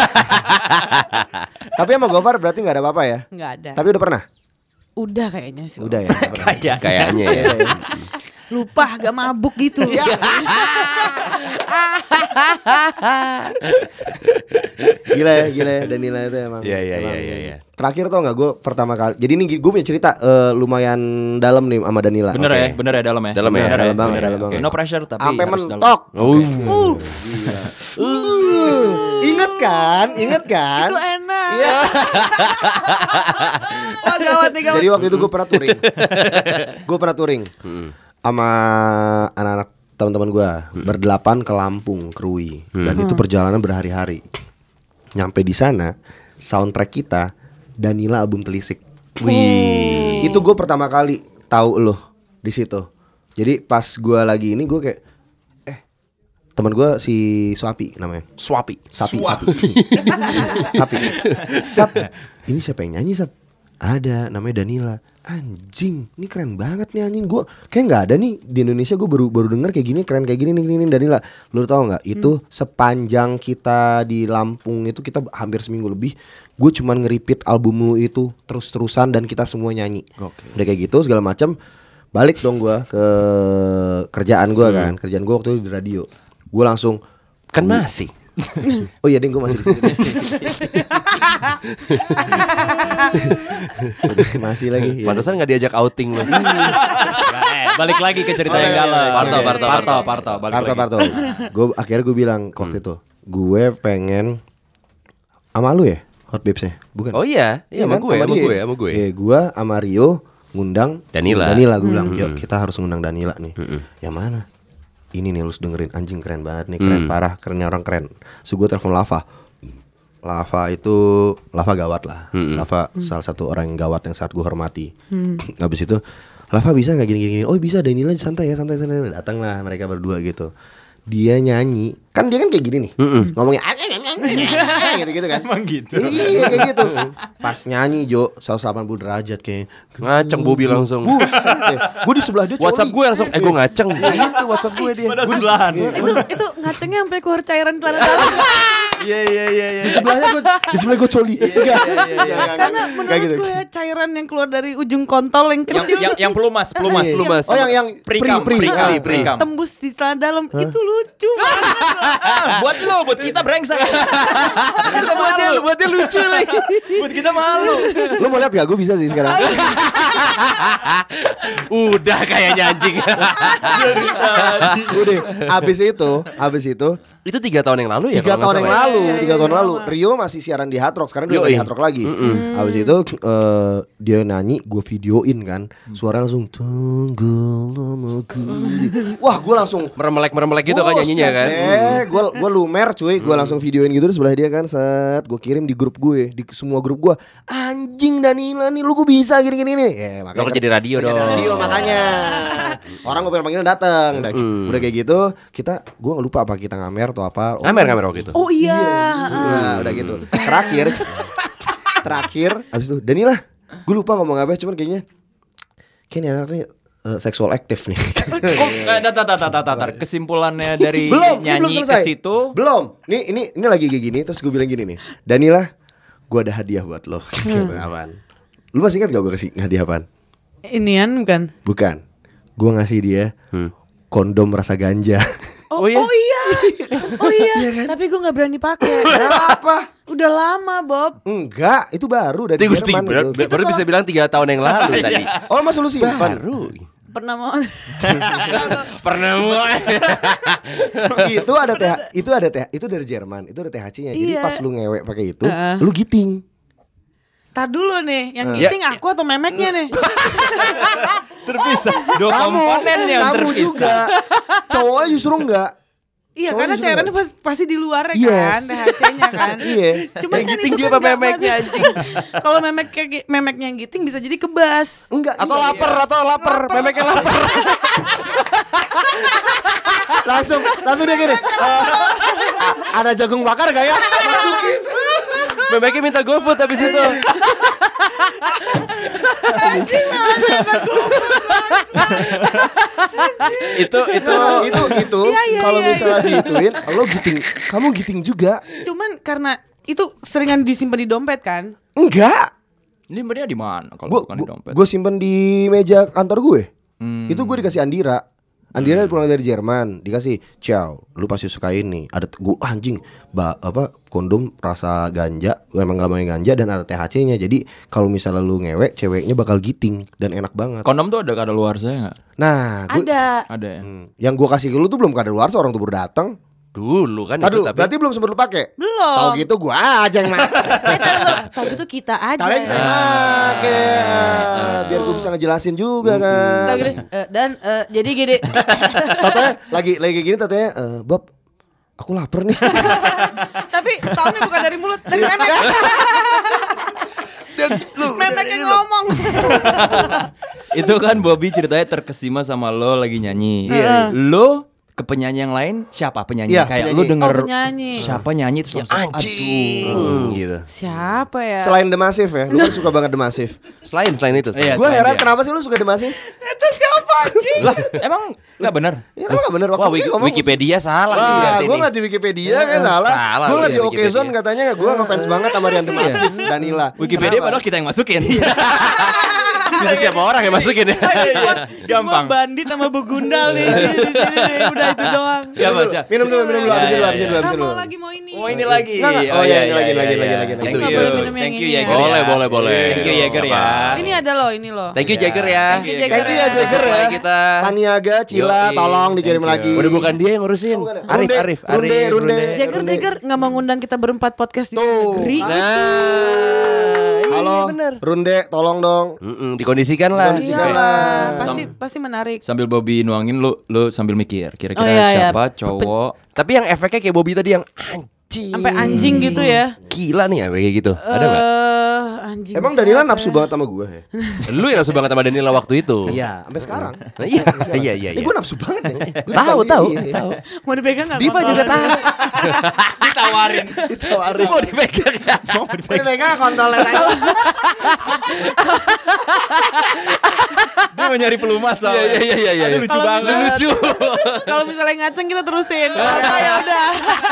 Tapi sama Gofar berarti gak ada apa-apa ya? Enggak ada. Tapi udah pernah? Udah kayaknya sih. Udah ya? Udah pernah. Kayak Kayaknya ya. Lupa gak mabuk gitu. Gila ya, gila ya Danila itu emang. Iya, iya, emang- iya, iya, iya. Terakhir tau gak gue pertama kali. Jadi ini gue punya cerita eh, lumayan dalam nih sama Danila. Bener Oke. ya, bener ya dalam ya. Dalam ya? Bener Dalam banget, bener dalam Oke, banget. No pressure tapi Sampai harus dalam. mentok. Oh. Uh, ingat kan? Ingat kan? Itu enak. Iya. Wah gawat nih gawat. Jadi waktu itu gue pernah touring. Gue pernah touring sama anak-anak teman-teman gue berdelapan ke Lampung, Krui, dan itu perjalanan berhari-hari. Nyampe di sana, soundtrack kita Danila album Telisik. Wih. Itu gue pertama kali tahu lo di situ. Jadi pas gue lagi ini gue kayak, eh teman gue si Suapi namanya. Swapi. Sapi, sapi. Sapi. Sap. Ini siapa yang nyanyi, Sap? Ada, namanya Danila. Anjing, ini keren banget nih anjing. Gue kayak nggak ada nih di Indonesia. Gue baru baru denger kayak gini, keren kayak gini nih, gini, nih Danila. Lu tau nggak? Itu sepanjang kita di Lampung itu kita hampir seminggu lebih. Gue cuman nge-repeat album lu itu terus-terusan dan kita semua nyanyi. Udah kayak gitu segala macam. Balik dong gue ke kerjaan gue kan. Kerjaan gue waktu itu di radio. Gue langsung Kan masih. oh iya ding gue masih di sini. Masih lagi. Ya. Pantesan nggak diajak outing lo. Eh, balik lagi ke cerita Oh, yang iya, dalam. iya, Parto, iya. Parto, Parto, Parto, balik Parto, lagi. Parto. Gue akhirnya gue bilang waktu itu, gue pengen sama lu ya, Hot Babes-nya, bukan? Oh iya, iya sama kan? gue, sama dia. gue, sama gue. Iya, gue sama Rio ngundang Danila. Danila gue bilang, yuk kita harus ngundang Danila nih. Yang mana? Ini nih lu harus dengerin, anjing keren banget nih, keren parah, kerennya orang keren. So gue telepon Lava. Lava itu Lava gawat lah. Lava salah satu orang yang gawat yang saat gue hormati. Habis itu Lava bisa nggak gini-gini? Oh bisa, Danila santai ya, santai santai. Datanglah mereka berdua gitu. Dia nyanyi, kan dia kan kayak gini nih, ngomongnya gitu-gitu kan. Emang gitu. Iya kayak gitu. Pas nyanyi Jo seratus delapan puluh derajat kayak Ngaceng Bobi langsung. gue di sebelah dia. WhatsApp coli. gue langsung, eh gue ngaceng. Itu WhatsApp gue dia. Pada sebelahan. Itu itu ngacengnya sampai keluar cairan celana dalam. Iya iya iya iya. Di sebelahnya gue, di sebelah gue coli. Enggak. Karena menurut gitu. gue ya, cairan yang keluar dari ujung kontol yang Yang kecil yang tuh yang pelumas, pelumas. Iya. Pelumas. Oh yang yang Prikam, pri, pri. prikam, Ah, prikam. tembus di celana dalam itu lucu banget. Ah, buat lo, buat kita brengsek. Kita Buat dia, malu. buat dia lucu lagi. Buat kita malu. Lu mau lihat gak? Gue bisa sih sekarang. Udah kayaknya anjing. Udah. Abis itu, abis itu Itu tiga tahun yang lalu ya? tiga kalau nggak tahun yang salah ya? lalu, iya, tiga iya, tahun iya, lalu. lama. Rio masih siaran di Hard Rock, sekarang dia udah Yoi. di Hard Rock lagi. Habis itu eh, dia nyanyi, gue videoin kan, suara langsung tenggelamku. Wah, gue langsung Meremelek-meremelek gitu kan nyanyinya kan. Eh, gue gue lumer cuy, gue langsung videoin gitu di sebelah dia kan, set, gue kirim di grup gue, di semua grup gue. Anjing Danila nih, lu kok bisa gini-gini nih? Ya, Lo kerja di radio kerja di dong. radio makanya. Orang gue pengen panggil datang, udah, udah kayak gitu, kita, gue nggak lupa apa kita ngamer atau apa. Oh, Ngamer-ngamer waktu itu. Oh iya. Nah, udah gitu. Terakhir, terakhir, abis itu Danila, gue lupa ngomong apa, cuman kayaknya, kayaknya anak nih uh, seksual aktif nih. Kok eh, tar, tar, tar, tar, tar, tar. Kesimpulannya dari belum, ini belum nyanyi ke selesai. situ. Belum. Nih, ini ini lagi kayak gini, terus gue bilang gini nih, Danila, gue ada hadiah buat lo. Apaan? Lu masih ingat gak gue kasih hadiah apaan? Inian bukan? Bukan. Gue ngasih dia kondom rasa ganja. Oh, Oh iya? oh iya. Oh iya. Tapi gue nggak berani pakai. Kenapa? Udah lama, Bob. Enggak, itu baru dari Tiga, Jerman. tiga, itu. baru bisa bilang tiga tahun yang lalu tadi. Oh, masa lu simpan? Baru. Pernah mau Pernah mulai. Itu ada T H, itu ada T H, itu dari Jerman, itu ada T H C-nya. Jadi Iya. pas lu ngewek pakai itu, Heeh. lu giting. Tar dulu nih, yang Ya. giting aku atau memeknya nih? Terpisah. Dua komponen yang kamu terpisah. juga. Cowoknya justru enggak. Iya, Cowok karena juga cairannya nggak? pas- pasti di luar Yes. kan, T H C-nya kan. Iya. Cuma Yang kan giting itu dia kan apa nggak memeknya, masuk. Kalau memek kayak memeknya yang giting bisa jadi kebas. Enggak. Atau iya. lapar, atau lapar, memeknya lapar. Langsung langsung dia gini. "Eh, ada jagung bakar gak ya? Masukin. Memeknya minta GoFood habis itu. Itu itu itu itu Iya, iya, kalau iya, misalnya diituin, lo giting, kamu giting juga. Cuman karena itu seringan disimpan di dompet kan. Enggak. ini dia di mana kalau Gue bukan di dompet? gue simpen di meja kantor gue. Hmm. Itu gue dikasih Andira. Andira pulang dari Jerman, dikasih, "Ciao, lu pasti suka ini. Ada gue anjing, ba, apa kondom rasa ganja, memang gak mau ganja dan ada T H C-nya. Jadi kalau misalnya lu ngewek, ceweknya bakal giting dan enak banget." Kondom tuh ada kada luar saya nggak? Nah, gue, Ada. Ada ya. Hmm, yang gue kasih ke lu tuh belum kada luar, seorang tuh baru datang. Dulu kan Aduh, itu tapi berarti belum sempat lu pakai. Belum. Tahu gitu gue aja yang pakai. Eh, tar dulu. Tahu gitu kita aja. Tahu kita yang pakai. Biar gue bisa ngejelasin juga kan. Tahu gitu. eh, dan eh, jadi gini. Tatanya lagi lagi kayak gini tatanya, eh, "Bob, aku lapar nih." Tapi soundnya bukan dari mulut, dari memek. Memek yang ngomong. Itu kan Bobby ceritanya terkesima sama lo lagi nyanyi. Iya. Lo ke penyanyi yang lain siapa penyanyi? Iya, Kayak penyanyi. lo denger Oh, penyanyi. siapa nyanyi terus langsung, anjing gitu. Siapa ya? Selain The Massive ya, lu kan suka banget The Massive. Selain selain itu. Iya, Gue selain heran dia. kenapa sih lu suka The Massive? Itu siapa anjing? Lah, emang nggak bener? Ya lu gak bener waktu Wah, itu Wiki- ngomong. Wikipedia salah nih Wah, berarti gue nih. ngeliat di Wikipedia kan salah. Salah Gue lu ngeliat di di Okezone Wikipedia. katanya gue ngefans banget sama Rian The Massive, Danila. Wikipedia Kenapa? padahal kita yang masukin. Bisa siapa orang yang masukin ya? Gampang. Gua bandit sama begundal nih di sini nih. Udah itu doang. Siapa siapa? Minum dulu, minum dulu, Ya, habisin dulu, ya, habisin ya. dulu, habisin Ah, mau dulu. lagi mau ini. Oh ini lagi. Nggak, nggak. Oh, iya, ini lagi, lagi, lagi, lagi, Thank lagi. Nggak you. boleh minum yang Thank you ini ya. ya. Boleh, boleh, boleh. Thank you Jäger ya. Ini ada loh, ini loh. Thank you Jagger ya. Thank you, Thank you ya Jagger. Jagger ya. Kita. Paniaga, Cila, Yoi. tolong dikirim Thank you. lagi. Udah bukan dia yang ngurusin. bukan ya? Arif, Runde, Arif, Runde, Arif, Runde. Jagger Runde. Jagger nggak mau ngundang kita berempat podcast di Tuh, negeri. kan? Nah, Halo, iya bener. Runde, tolong dong. Mm-mm, dikondisikan lah. Dikondisikan. Iyalah, Sam- pasti pasti menarik. Sambil Bobby nuangin lu lu sambil mikir kira-kira Oh, iya, iya. siapa cowok. Tapi yang efeknya kayak Bobby tadi yang anjing. Sampai anjing gitu ya. Gila nih ya kayak gitu. Ada nggak? Eh, anjing. Emang siapa Danila ya? nafsu banget sama gue ya? Lu yang nafsu banget sama Danila waktu itu. Iya, sampai sekarang. Nah, Iya, iya, iya. Eh, iya. gue nafsu banget ya. Gua Tahu, dipanggil, tahu, iya. tahu. Mau dipegang nggak? Diva juga tahu. Ditawarin. Ditawarin. Mau dipegang ya? Mau dipegang kontolnya tadi. Dia mau nyari pelumas Iya, iya, iya, iya, iya. Aduh, lucu Kalau banget. misalnya- Lucu. Kalau misalnya ngaceng kita terusin. Oh, ya udah.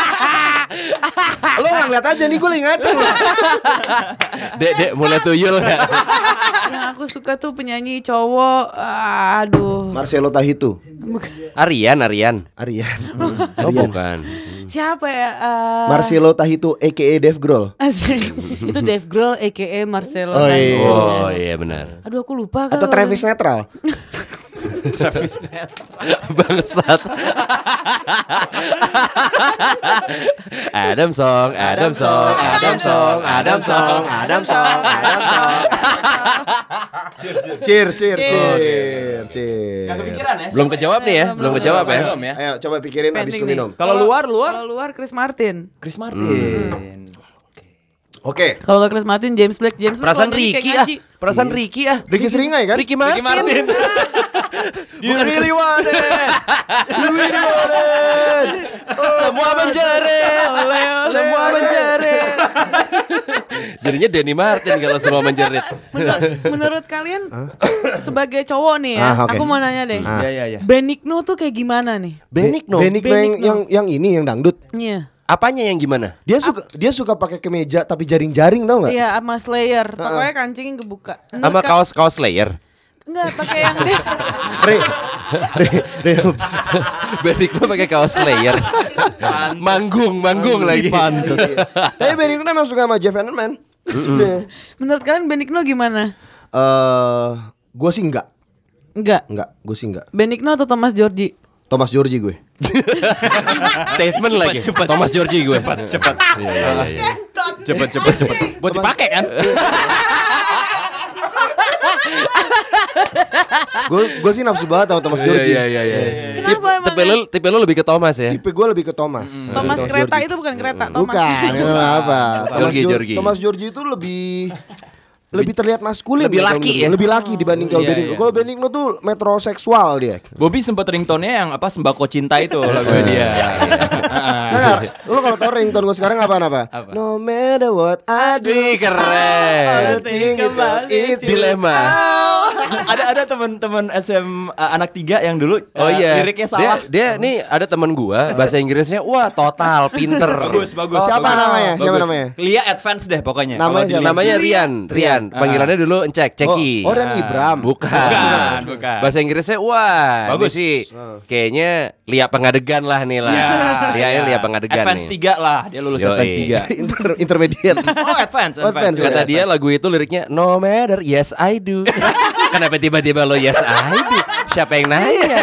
Lo nggak ngeliat aja nih gue lagi ngaceng loh. Dek, dek, mulai tuyul nggak? Yang aku suka tuh penyanyi cowok. Aduh. Marcelo Tahitu. Arian, Arian. Arian. Oh, Arian. bukan. Siapa ya? Eh, Marcelo Tahitu A K A Dave Grohl. Asik. Itu Dave Grohl A K A Marcelo. Oh, iya. Oh, iya benar. Aduh aku lupa Atau kalau- Travis Netral. Travis Net. Bangsat. Adam Song, Adam Song, Adam Song, Adam Song, Adam Song, Adam Song. Cheers, cheers, cheers, cheers. Gak kepikiran ya? Belum kejawab nih ya, belum kejawab ya. Belum ya. Ayo coba pikirin abis Penting gue nih. minum. Kalau luar, luar? Kalau luar Chris Martin. Chris Martin. Oke. Kalau nggak Chris Martin, James Blake, James Blake. Perasaan kalau nyanyi kayak Ricky ah, ngaji. perasaan Ricky ah. Ricky Seringai kan? Ricky Martin. Ricky Martin. You really want it. You really want it. Semua menjerit, semua menjerit. Jadinya Denny Martin kalau semua menjerit. Menurut, menurut kalian sebagai cowok nih ya, Ah, oke. aku mau nanya deh. Ah. Iya, iya, iya. Benigno tuh kayak gimana nih? Benigno. Benigno yang, Benigno. yang yang ini yang dangdut. Iya. Apanya yang gimana? Dia suka dia suka pakai kemeja tapi jaring-jaring tau nggak? Iya, sama Slayer. Pokoknya kancingnya kebuka. Menurut Sama ka- kaos-kaos layer. Enggak, pakai yang dia. Re, re, re, Benigno pakai kaos layer. Manggung, manggung lagi. Tapi Benigno memang suka sama Jeff Hanneman. Eh, Menurut kalian Benigno gimana? gue sih enggak, Enggak. enggak, gue sih enggak. Benigno atau Thomas Georgie? Thomas Georgie gue. Statement lagi. Thomas Georgie gue. Cepat, cepat. Cepet, cepet, cepet. Buat dipakai kan? Gue gue sih nafsu banget sama Thomas Georgie. Iya, iya, iya. Kenapa emang? Tipe lu, tipe lu lebih ke Thomas ya? Tipe gue lebih ke Thomas. Thomas kereta itu bukan kereta, Thomas. Bukan, itu apa? Thomas Georgie, Geor- Georgie. Thomas Georgie itu lebih lebih terlihat maskulin, lebih kalau laki menurut ya? gue. Lebih laki dibanding kalau Iya, Benigno. iya. Kalau Benigno tuh metroseksual dia. Bobby sempat ringtone-nya yang apa sembako cinta itu lagunya dia. Nah, lu kalau tau ringtone gue sekarang apaan apa? Apa? No matter what I do, Wih, keren. I think about it. Dilema. ada ada teman-teman S M uh, anak tiga yang dulu Oh uh, iya. liriknya salah. Dia, dia nih ada teman gua bahasa Inggrisnya wah total pinter. Bagus, bagus. Siapa bagus. namanya? Siapa Bagus. namanya? Lia Advance deh pokoknya. Namanya Kalau di- siapa? Namanya Rian, Rian. Panggilannya dulu Encek, Ceki. Oh, oh dan Ibram. Bukan. Bukan, bukan. Bahasa Inggrisnya wah, Bagus. ini sih kayaknya Lia Pengadegan lah nih lah. Iya, Lia iya. Lia Pengadegan Advance nih. tiga lah, dia lulus Yoi. Advance tiga. Inter intermediate. Oh, Advance, Oh, Advance. Advance, Kata ya. dia lagu itu liriknya no matter yes I do. Kenapa tiba-tiba lo yes I do? Siapa yang nanya?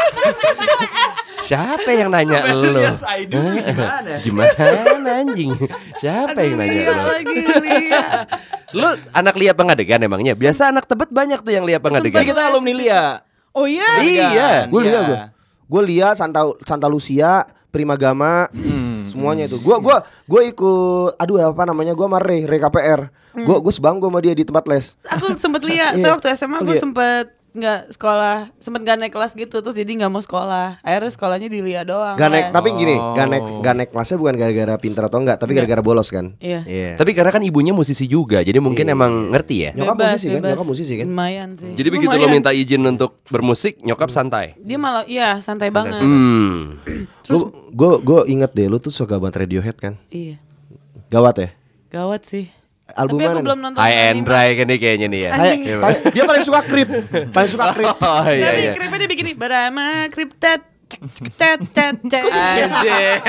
Siapa yang nanya No matter lo? yes I do tuh gimana? Gimana anjing? Siapa yang nanya Lia lo? lagi, Lia. Lu anak Lia Pengadegan emangnya? Biasa anak Tebet banyak tuh yang Lia Pengadegan. Kita alumni Lia. Oh iya? Iya. Gue lihat Iya. gue. Gue lihat Santa Santa Lucia, Primagama, semuanya itu. Gue gua gue ikut, aduh apa namanya? Gue sama Ray, Ray K P R. Gue gue sebanggo sama dia di tempat les. Aku sempet lihat, Iya. saya waktu S M A Oh, gue iya. sempet nggak sekolah, sempet nggak naik kelas gitu, terus jadi nggak mau sekolah. Akhirnya sekolahnya di Lia doang. Gak naik, les. tapi gini, Oh. gak naik, gak naik kelasnya bukan gara-gara pinter atau enggak, tapi gara-gara bolos kan. Iya. Tapi karena kan ibunya musisi juga, jadi mungkin emang ngerti ya. Nyokap Bebas, musisi kan, bebas. nyokap musisi kan. Lumayan sih. Jadi begitu lo Lumayan. minta izin untuk bermusik, nyokap santai. Dia malah, iya santai banget. Hmm. Lu, gue gue inget deh, lu tuh suka banget Radiohead kan? Iya. Gawat ya. Gawat sih. Album Tapi aku mana belum nih? nonton. High and anime. dry kan nih kayaknya nih ya. Kayak- kayak- dia paling suka Creep, paling suka Creep. Oh iya Tapi iya. kripnya dia bikin nih, Barama kriptet. Cet cet cet. Anjir.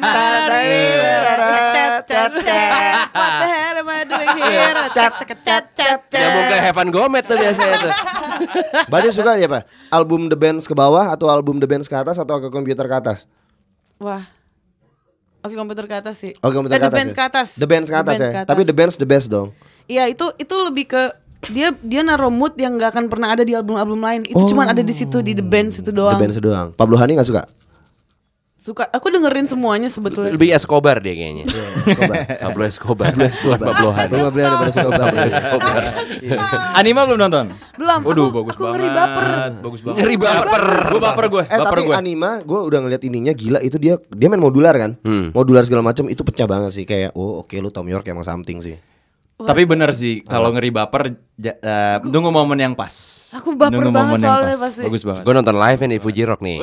What the hell am I doing here? Cet cet cet cet. Nyambung ke Heaven Gomet tuh biasanya tuh. Berarti suka ya apa? Album The Bands ke bawah atau album The Bands ke atas atau ke komputer ke atas? Wah. Oke, komputer ke atas sih. Oh, komputer Eh, ke The atas. Bands ya? ke atas. The Bands ke atas ya. Tapi The Bands the best dong. Iya, itu itu lebih ke dia dia naruh mood yang nggak akan pernah ada di album-album lain. Itu cuman ada di situ di The Bands itu The doang. Bands doang. Pablo Honey gak suka? Suka aku dengerin semuanya sebetulnya. Lebih Escobar dia kayaknya. Pablo Escobar. Pablo Escobar. Pablo Hari. Lu gak beli daripada suka Pablo Escobar. Anima belum nonton? Belum. Waduh, aku, bagus aku banget. ngeri baper. Bagus banget. Ngeri baper. Gue baper gue, Eh baper tapi gue. Anima gue udah ngeliat ininya gila. Itu dia dia main modular kan. Hmm. Modular segala macam itu pecah banget sih. Kayak oh oke lu Tom York emang something sih. Tapi bener sih, kalau ngeri baper, ja- eh, tunggu momen yang pas. Aku baper Tunggu banget momen yang soalnya pas. pasti. Bagus banget. Gue nonton live nih di Fuji Rock nih.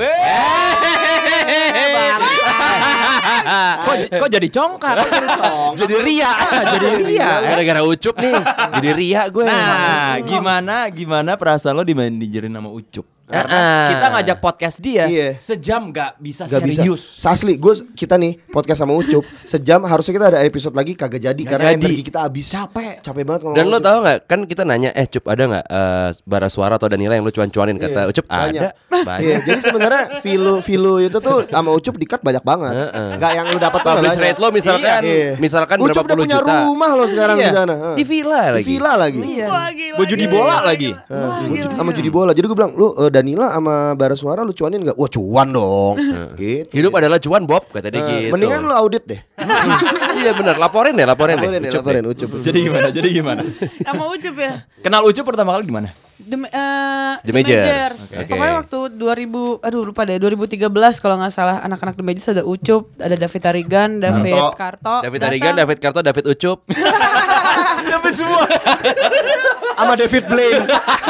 kok, kok jadi congkak? Jadi ria, jadi ria. Gara-gara Ucup nih, jadi ria gue. Nah, gimana gimana perasaan lo dimanajerin sama Ucup? Karena Ah. kita ngajak podcast dia Iya. sejam nggak bisa Gak bisa. serius. Asli, gue kita nih podcast sama Ucup sejam harusnya kita ada episode lagi kagak jadi Nggak karena jadi. energi kita habis. Capek. Capek banget ngomong. Dan lo Ucup. tahu nggak? Kan kita nanya, eh Cup ada nggak eh, bara suara atau Danila yang lu cuan-cuanin? Kata Iya, Ucup banyak. ada, banyak. Iya, jadi sebenarnya Vilo Vilo itu tuh sama Ucup di cut banyak banget. Gak yang lu dapat tuh Publish banyak. rate lo misalkan, Iya. misalkan Ucup berapa udah puluh punya juta. rumah lo sekarang Iya. di sana. Heeh. Di villa Di lagi. villa lagi. Wah, gila, Gue judi gila, bola gila, lagi. gila. Heeh, Wah, gua gila, ju- sama gila. judi bola. Jadi gue bilang, lu eh, Danila sama bara suara lu cuanin nggak? Wah cuan dong. Gitu. Hidup adalah cuan Bob, kata dia Eh, gitu. Mendingan lu audit deh. Iya benar, laporin deh, laporin deh. Laporin, ya, Ucup laporin, deh. Ucup. Jadi gimana? Jadi gimana? Sama Ucup ya. Kenal Ucup pertama kali di mana? The, eh, The Majors. Oke. Oke. Pokoknya waktu dua ribu, aduh lupa deh, dua ribu tiga belas kalau nggak salah anak-anak The Majors ada Ucup, ada David Tarigan, David Karto. Karto, David datang. Arigan, David Karto, David Ucup. Dapat semua. Sama David Blaine.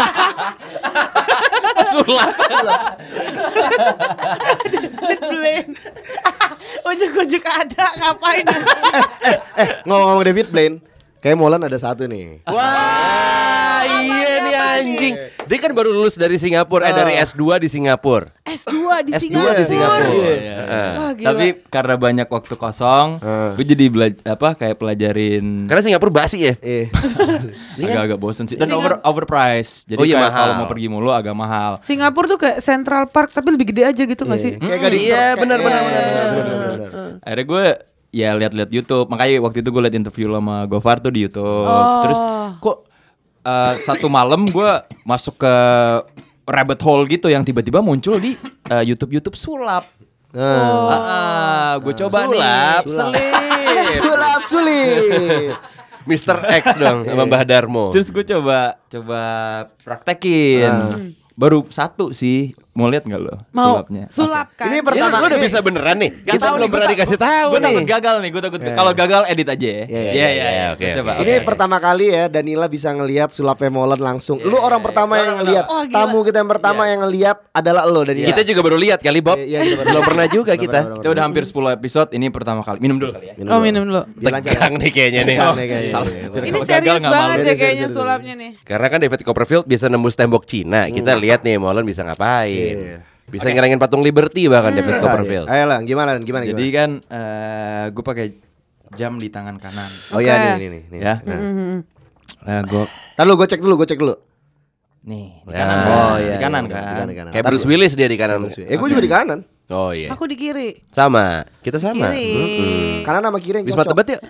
Sulap. David Blaine. Ujuk-ujuk ada, ngapain? Eh ngomong-ngomong David Blaine, kayak Molan ada satu nih. Wah, iya nih anjing. Dia kan baru lulus dari Singapura, eh dari S dua di Singapura. S dua di S dua Singapura. di Singapura. Iya. Heeh. Wah, gila. Tapi karena banyak waktu kosong, Eh. gue jadi belajar apa kayak pelajarin Karena Singapura basi ya. Eh, agak-agak bosen sih. Dan Singa- over overpriced. Jadi Oh iya, kayak mahal. kalau mau pergi mulu agak mahal. Singapura tuh kayak Central Park tapi lebih gede aja gitu nggak sih? kayak gading Iya, kayak- benar, benar, iya, benar, iya, benar. benar, benar, benar. Akhirnya gue ya lihat-lihat YouTube. Makanya waktu itu gue liat interview sama Gofar tuh di YouTube. Oh. Terus kok eh, satu malam gue masuk ke rabbit hole gitu yang tiba-tiba muncul di eh, YouTube YouTube sulap. Nah, gue coba Sulap, nih. selip. sulap sulit. mister X dong sama Mbah Darmo. Terus gue coba coba praktekin. Baru satu sih. Mau lihat nggak lo Mau sulapnya? sulap kan? Ini Ini pertama lu udah ini- bisa beneran nih. Gak Kita belum pernah dikasih tahu Gue nih. takut gagal nih. Gue takut kalau gagal edit aja ya. Iya, iya, Iya iya iya, oke. oke, Coba. oke. Ini pertama kali ya Danila bisa ngelihat sulapnya Molan langsung. Lu orang pertama yang ngelihat. Oh, gila. Tamu kita yang pertama yang ngelihat adalah lo Danila. Kita juga baru lihat kali Bob. Iya, iya, kita baru- Belum pernah juga kita. Kita udah hampir sepuluh episode. Ini pertama kali. Minum dulu kali ya. Oh minum dulu. Biar lancar. Tegang nih kayaknya nih. Tegang nih kayaknya. Salah. Iya, Jadi Ini kalau gagal serius nggak banget malu. ya Serius, kayaknya serius, sulapnya nih. Karena kan David Copperfield bisa nembus tembok Cina. Kita lihat nih Molan bisa ngapain. Iya. Bisa ngerangin patung Liberty bahkan David Copperfield. Ayo lah, gimana gimana Jadi gimana? kan eh, gue pakai jam di tangan kanan. Oh iya Oke. nih nih nih. nih. Ya. Nah. Eh, gue Ntar lu gue cek dulu, gue cek dulu. nih di Ya. kanan. Oh, gua. iya, Di kanan iya, kan. di kanan, di kanan. Kayak Ntar Bruce gua- Willis dia di kanan. Eh gue juga di kanan. Oh iya. Aku di kiri. Sama. Kita sama. Kiri. Mm-mm. Kanan sama kiri yang Wisma cocok. Tebet yuk.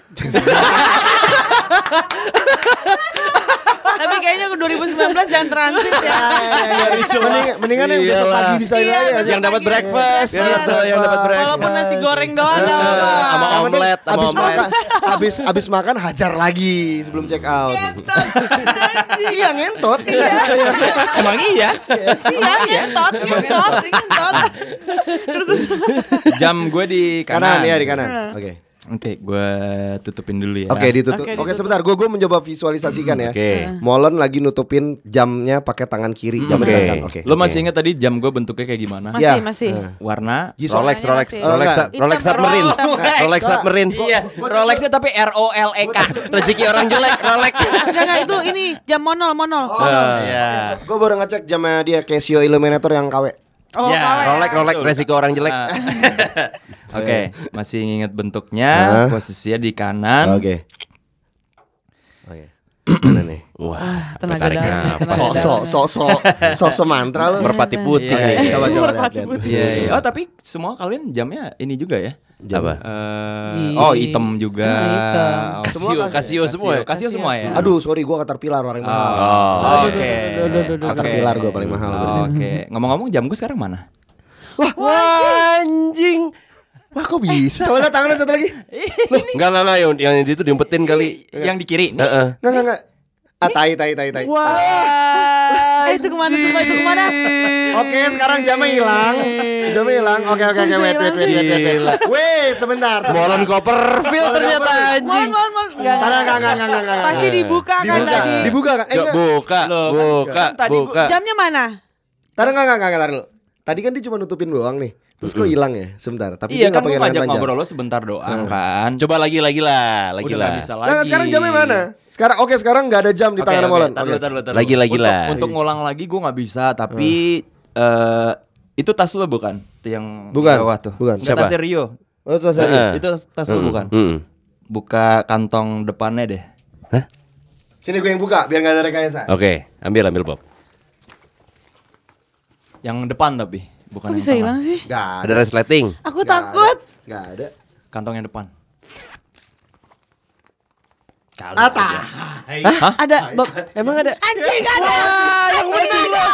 Tapi kayaknya ke dua ribu sembilan belas jangan transit ya. Mendingan, mendingan yang besok Iyalah. pagi bisa ini Iya, aja. besok Yang dapat pagi. breakfast Iya, gitu, yang dapat breakfast. Walaupun nasi goreng doang Eh, nggak apa-apa. sama Yang penting omelet, sama abis omelet. makan, abis abis makan hajar lagi sebelum check out. Iya ngentot. Emang iya. Iya, ngentot, ngentot, ngentot. Jam gue di Kanan kanan. ya di kanan. Oke. Oke, gue tutupin dulu ya. Oke ditutup. Oke, Oke ditutup. sebentar, gue gue mencoba visualisasikan ya. Oke. Molen lagi nutupin jamnya pakai tangan kiri, jam Oke. kanan. Oke. Lo masih ingat tadi jam gue bentuknya kayak gimana? Masih, Ya. masih. Eh. Warna Jisoo. Rolex, Warnanya Rolex, masih. Oh, Rolex, enggak. Rolex Hitam, Submarine, Rolex. Rolex Submarine. Iya, Rolexnya tapi R O L E K. Rezeki orang jelek, Rolex. Enggak, enggak, itu ini jam monol, monol. Iya. Gue baru ngecek jamnya dia Casio Illuminator yang K W. Oh, Ya, kawe. Rolex, Rolex, resiko orang jelek. Ah. Oke, masih ingat bentuknya, Hah? posisinya di kanan. Oke. Oke. Mana nih? Wah, apa Tenaga tarik dalam, nafas. tenaga Sosok, sosok, sosok mantra lu. Merpati putih. Iya, iya. Coba coba Merpati lihat. lihat. Iya, iya. Oh, tapi semua kalian jamnya ini juga ya? Apa? Eh, Ji. oh, hitam juga. Ah, hitam. Oh, Casio, Casio semua. ya? Casio semua ya? Aduh, sorry gue Caterpillar paling mahal. Oh, Oke. Duh, duh, duh, duh, duh. Caterpillar gue paling mahal. gua di sini. Oke. Ngomong-ngomong jam gue sekarang mana? Wah, anjing. Wah, kok bisa? Coba lihat tangannya satu lagi. Enggak, enggak, enggak, yang, yang itu diumpetin kali. Yang di kiri. Nih. Heeh. Enggak enggak enggak. Ah, tai tai tai tai. Wah. Eh, itu kemana semua, itu kemana? Oke, sekarang jamnya hilang. Jamnya hilang. Oke oke oke, wait wait wait wait wait. wait. Wait, sebentar. sebentar. Molen Copperfield ternyata Mon, anjing. mon, mon. Enggak, Enggak enggak enggak enggak enggak. enggak. Pasti dibuka kan Dibuka, tadi. dibuka kan? Eh, Yuk, enggak. buka, Loh, kan- buka, kan tadi gua- buka. Jamnya mana? Tadi enggak enggak enggak enggak dulu. Tadi kan dia cuma nutupin doang nih. Terus kok hilang ya? Sebentar. Tapi Iya dia kan nggak gue pakai lengan ngajak panjang. ngobrol lo sebentar doang kan. Coba lagi, lagi lah, lagi Udah lah. nggak bisa lagi. Nah, sekarang jamnya mana? Sekarang oke, sekarang enggak ada jam di Oke, tangan oke, Molen. tar dulu, Oke. tar dulu, tar dulu. Lagi, lagi Untuk- lah. Untuk ngulang lagi gue nggak bisa, tapi eh itu tas lo bukan? Itu yang Bukan, bawah tuh. bukan. Nggak, Siapa? tasnya Rio. Oh itu saya. Heeh. Itu tas, tas lo Mm, bukan? mm. Buka kantong depannya deh. Hah? Sini gue yang buka biar nggak ada rekayasa. Oke, ambil ambil Bob. Yang depan tapi, bukan Kok yang bisa tengah. hilang sih? Gak Ada ada. resleting. Aku Nggak takut. ada. Gak ada. Kantong yang depan. Atah. Ada Bob. Emang ada? Anjing ada. Yang benar loh.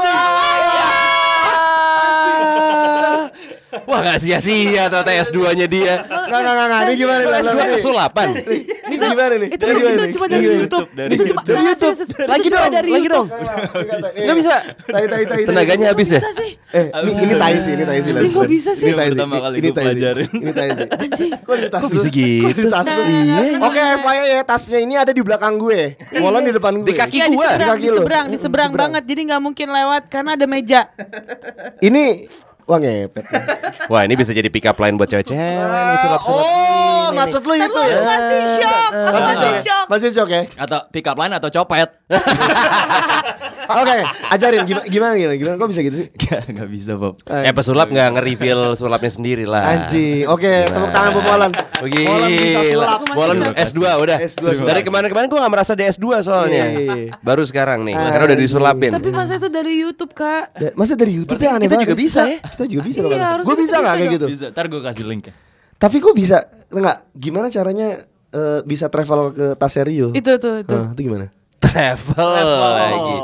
Wah, nggak sia-sia ternyata S dua-nya dia. Nggak nggak nggak nggak. Ini gimana nih? S dua kesulapan. Ini gimana nih? Itu Ini itu gimana nih? cuma dari YouTube. Dari Itu cuma dari YouTube. Lagi dong, dari lagi dong. YouTube. Nggak bisa. Tai tai tai. Tenaganya habis ya? Bisa sih. Eh, ini, ini tai sih, ini tai sih. Anjing, kok bisa sih? Ini tai sih. Pertama kali Ini gue tai sih. pelajarin. Ini tai sih. Kok di tas Kok lu? bisa gitu? Kok di tas lu? Iya. Oke, F Y I ya, tasnya ini ada di belakang gue. Molan di depan gue. Di kaki Iya di gua. seberang, Di di kaki lu. seberang, di seberang banget. Jadi nggak mungkin lewat karena ada meja. Ini wah ngepet. Wah, ini bisa jadi pick up line buat cewek-cewek nih sulap-sulap. Oh, maksud lu itu ya? Masih shock, aku Masih masih shock. shock. Masih shock ya? Atau pick up line atau copet. Oke, ajarin gimana gimana gimana, gimana kok bisa gitu sih? Gak, gak bisa Bob. Eh, pesulap nggak nge-reveal sulapnya sendiri lah. Anjing. Oke, tepuk tangan buat Molan. Begini. Molan bisa sulap. Molan S dua udah. S dua Dari kemarin-kemarin gue gak merasa di S dua soalnya. Iya. Baru sekarang nih. Karena udah disulapin. Tapi masa itu dari YouTube kak. Da- Masa dari YouTube ya aneh kita banget. juga bisa ya? Kita juga bisa Iya, dong. harusnya Gue kita bisa nggak bisa kayak dong. gitu? Bisa, ntar gue kasih link ya. Tapi kok bisa enggak? Gimana caranya eh, bisa travel ke Taserio? Itu tuh itu. Nah, itu gimana? Travel lagi.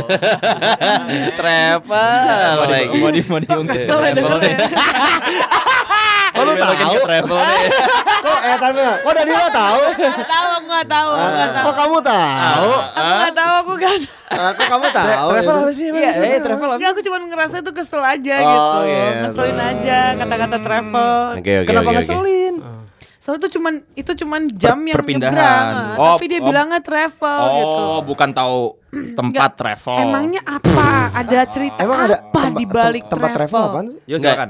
Travel lagi. Mau di mau diungkit. Kesel ya dengernya. Oh, lu tahu? Ke travel deh. Kok eh tapi kok dari lo tahu? Nggak tahu, aku nggak tahu, aku nggak tahu. Kok kamu tahu? Aku nggak tahu, aku nggak tahu. Ah, Kok kamu tahu? Travel apa sih? Iya, Iya, travel. Enggak, aku cuma ngerasa itu kesel aja Oh, gitu. gitu. Ngeselin aja kata-kata travel. Oke, oke. Kenapa oke, oke. ngeselin? Soalnya itu cuman itu cuman jam yang perpindahan. nyebrang. Oh, Tapi dia oh. bilangnya travel gitu. Oh, bukan tahu tempat Nggak, travel. Emangnya apa? Ada cerita Emang ada apa tempat- di balik tem- tempat travel apaan? Yo Nggak. silakan.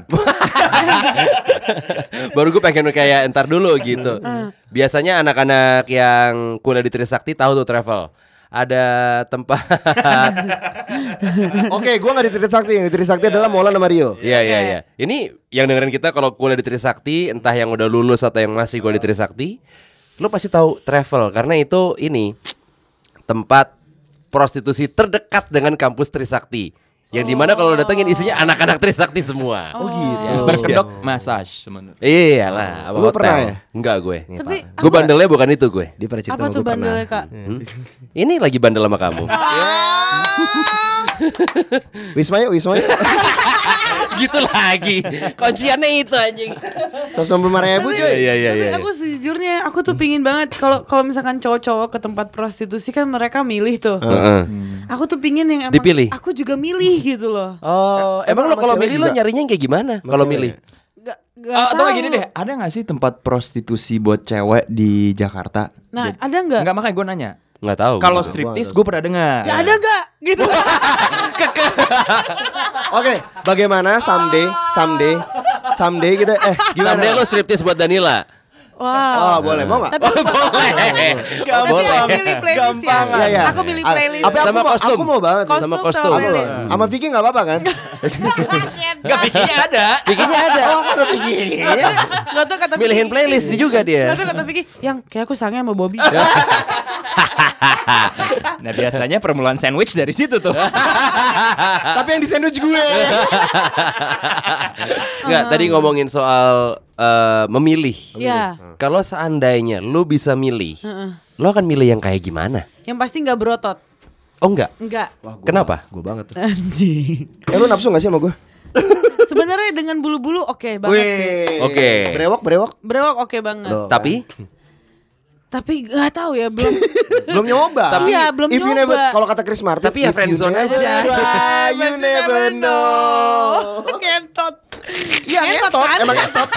Baru gue pengen kayak entar dulu gitu. Biasanya anak-anak yang kuliah di Trisakti tahu tuh travel. Ada tempat. Oke, gua enggak di Trisakti. Yang di Trisakti adalah Molan sama Rio. Iya iya iya. Ini yang dengerin kita kalau kuliah di Trisakti, entah yang udah lulus atau yang masih kuliah di Trisakti, lu pasti tahu travel karena itu ini tempat prostitusi terdekat dengan kampus Trisakti. Yang dimana kalau lu datengin isinya anak-anak Trisakti semua. Oh gitu. Ya, berkedok massage sebenarnya. Iyalah, apa Lu hotel. pernah ya? Enggak gue. Tapi Gue bandelnya bukan itu gue. Dia pada cerita apa sama tuh gua pernah. bandelnya kak? Hmm? Ini lagi bandel sama kamu. Wisma yuk, Wisma yuk. Gitu lagi. Kunciannya itu anjing. seratus enam puluh lima ribu Iya cuy. iya iya. Tapi iya. aku sejujurnya aku tuh pingin banget kalau kalau misalkan cowok-cowok ke tempat prostitusi kan mereka milih tuh. Heeh. Aku tuh pingin yang emang Dipilih? aku juga milih gitu loh. Oh, Emang emang lo sama kalau cewek milih lo juga? nyarinya yang kayak gimana? Sama Kalau cewek milih? ya? Gak, gak Ah, atau tahu. kayak gini deh, ada gak sih tempat prostitusi buat cewek di Jakarta? Nah, Jadi- ada nggak? Enggak, makanya gue nanya. Nggak tahu. Kalau Gitu. striptease gue pernah dengar. Ya ada gak? Gitu. Oke, bagaimana someday, someday, someday kita eh gimana? Someday lo striptease buat Danila. Wow. Oh, boleh mau enggak? Tapi aku Boleh. Tapi Boleh. aku milih playlist ya. Iya, iya. Aku milih Ah, playlist. Apa aku Sama mau, kostum. aku mau banget sih. Kostum sama sama kostum. Aku playlist. mau. Sama Vicky enggak apa-apa kan? Enggak, bikinnya ada. Bikinnya ada. Oh, ada Vicky. Gak tau kata Milihin Vicky. playlist dia juga dia. Gak tau kata Vicky. Yang kayak aku sange sama Bobby. Nah, biasanya permulaan sandwich dari situ tuh. Tapi yang di sandwich gue. Enggak, tadi ngomongin soal eh, memilih. Iya. Kalau seandainya lo bisa milih, lo akan milih yang kayak gimana? Yang pasti gak berotot. Oh enggak. Enggak. Kenapa? Gue banget tuh. Anjing. Eh lu nafsu gak sih sama gue? Sebenarnya dengan bulu-bulu oke banget sih. Wih. Oke. Brewok, brewok. Brewok oke banget. Loh. Tapi Tapi gak tahu ya belum. Belum nyoba. Tapi iya, belum If you nyoba. never, kalau kata Chris Martin, Tapi ya if you friendzone never aja. try, you never know. Ngentot. Iya Ngentot ngetot, kan? emang ngetot.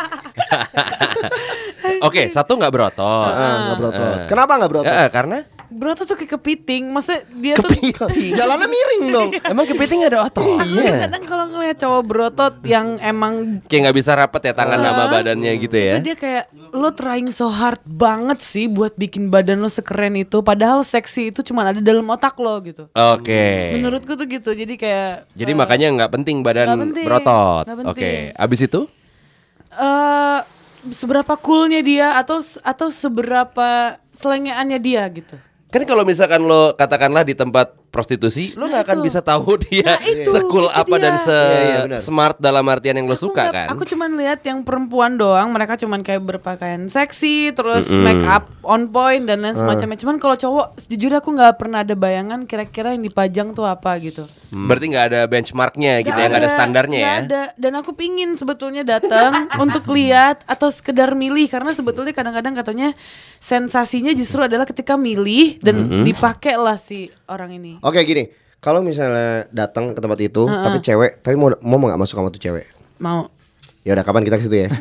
oke, satu nggak berotot. Ah, nggak berotot. Kenapa nggak berotot? Eh, eh, karena Broto tuh kayak kepiting. Maksudnya dia tuh Kepiting. Jalannya miring dong. Emang kepiting ada ototnya? kadang-kadang kalau ngeliat cowok brotot yang emang Kayak nggak bisa rapet ya tangan sama badannya gitu ya. itu dia kayak lo trying so hard banget sih buat bikin badan lo sekeren itu, padahal seksi itu cuma ada dalam otak lo gitu. Oke. Menurutku tuh gitu. Jadi kayak Jadi eh, makanya nggak penting badan nggak penting, berotot. nggak Oke. penting. Abis itu? eh seberapa coolnya dia atau atau seberapa selengeannya dia gitu. Kan kalau misalkan lo katakanlah di tempat prostitusi, lo nggak akan itu. bisa tahu dia Nah, itu, sekul itu apa dia. dan se Iya, iya, benar. smart dalam artian yang lo Aku suka nggak- kan. Aku cuman lihat yang perempuan doang, mereka cuman kayak berpakaian seksi, terus make up on point dan lain semacamnya. Cuman kalau cowok, sejujurnya aku nggak pernah ada bayangan kira-kira yang dipajang tuh apa gitu. Berarti nggak ada benchmarknya gitu ya, nggak ada standarnya nggak ya. ada. Dan aku pingin sebetulnya datang untuk lihat atau sekedar milih, karena sebetulnya kadang-kadang katanya sensasinya justru adalah ketika milih dan dipakai lah si orang ini. Oke gini, kalau misalnya datang ke tempat itu, tapi cewek, tapi mau mau nggak masuk sama tuh cewek? Mau? Ya udah kapan kita ke situ ya?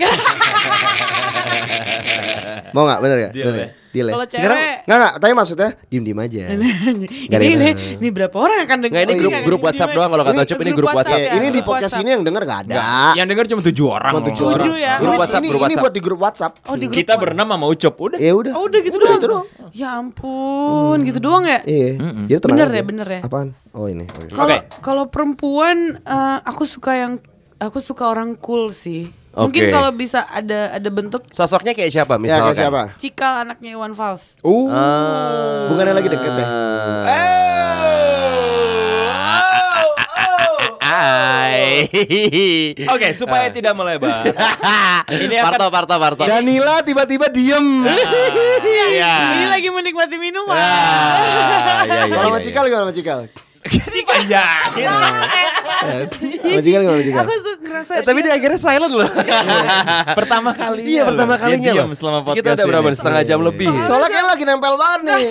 Mau nggak bener ya? Deal Bener ya? Deal ya? Kalau Sekarang- cewek Nggak nggak, tapi maksudnya diem diem aja. ini, Nggak ada ini, yang- ini berapa orang yang akan dengar? Nggak, ini grup Iya, grup ini WhatsApp gimana? doang kalau kata Ini Ucup ini grup WhatsApp. Eh, ya, ini di grup podcast WhatsApp. ini yang denger nggak ada. Yang denger cuma tujuh orang. Cuma tujuh loh. orang. Tujuh ya? Ini, Grup WhatsApp, ini, grup ini WhatsApp. buat di grup WhatsApp. Oh, di grup Kita berenam sama Ucup. Udah. Ya udah. Oh, udah gitu Udah doang. gitu doang. Ya ampun, gitu doang ya? Iya. Jadi tenang Bener aja. ya, bener ya. Apaan? Oh ini. Oke. Kalau Oke. kalau perempuan eh, aku suka yang aku suka orang cool sih. Mungkin Oke. kalau bisa ada ada bentuk Sosoknya kayak siapa Ya misalkan? kayak siapa? Cikal anaknya Iwan Fals. Uh. Bukannya lagi deket ya? Hai. Oke, supaya tidak melebar. Ini akan Parto, Parto, Parto. Danila tiba-tiba diem. Iya. Ini lagi menikmati minuman. Ah, iya, iya, Kalau iya, sama Cikal gimana sama Cikal? Panjangin. Sama Cikal gimana sama Cikal? Aku tuh ngerasa Eh, tapi dia akhirnya silent loh. Pertama kali. Iya, pertama kalinya loh. Selama podcast Kita udah berapa? ini. Setengah jam lebih. Soalnya kayak lagi nempel banget nih.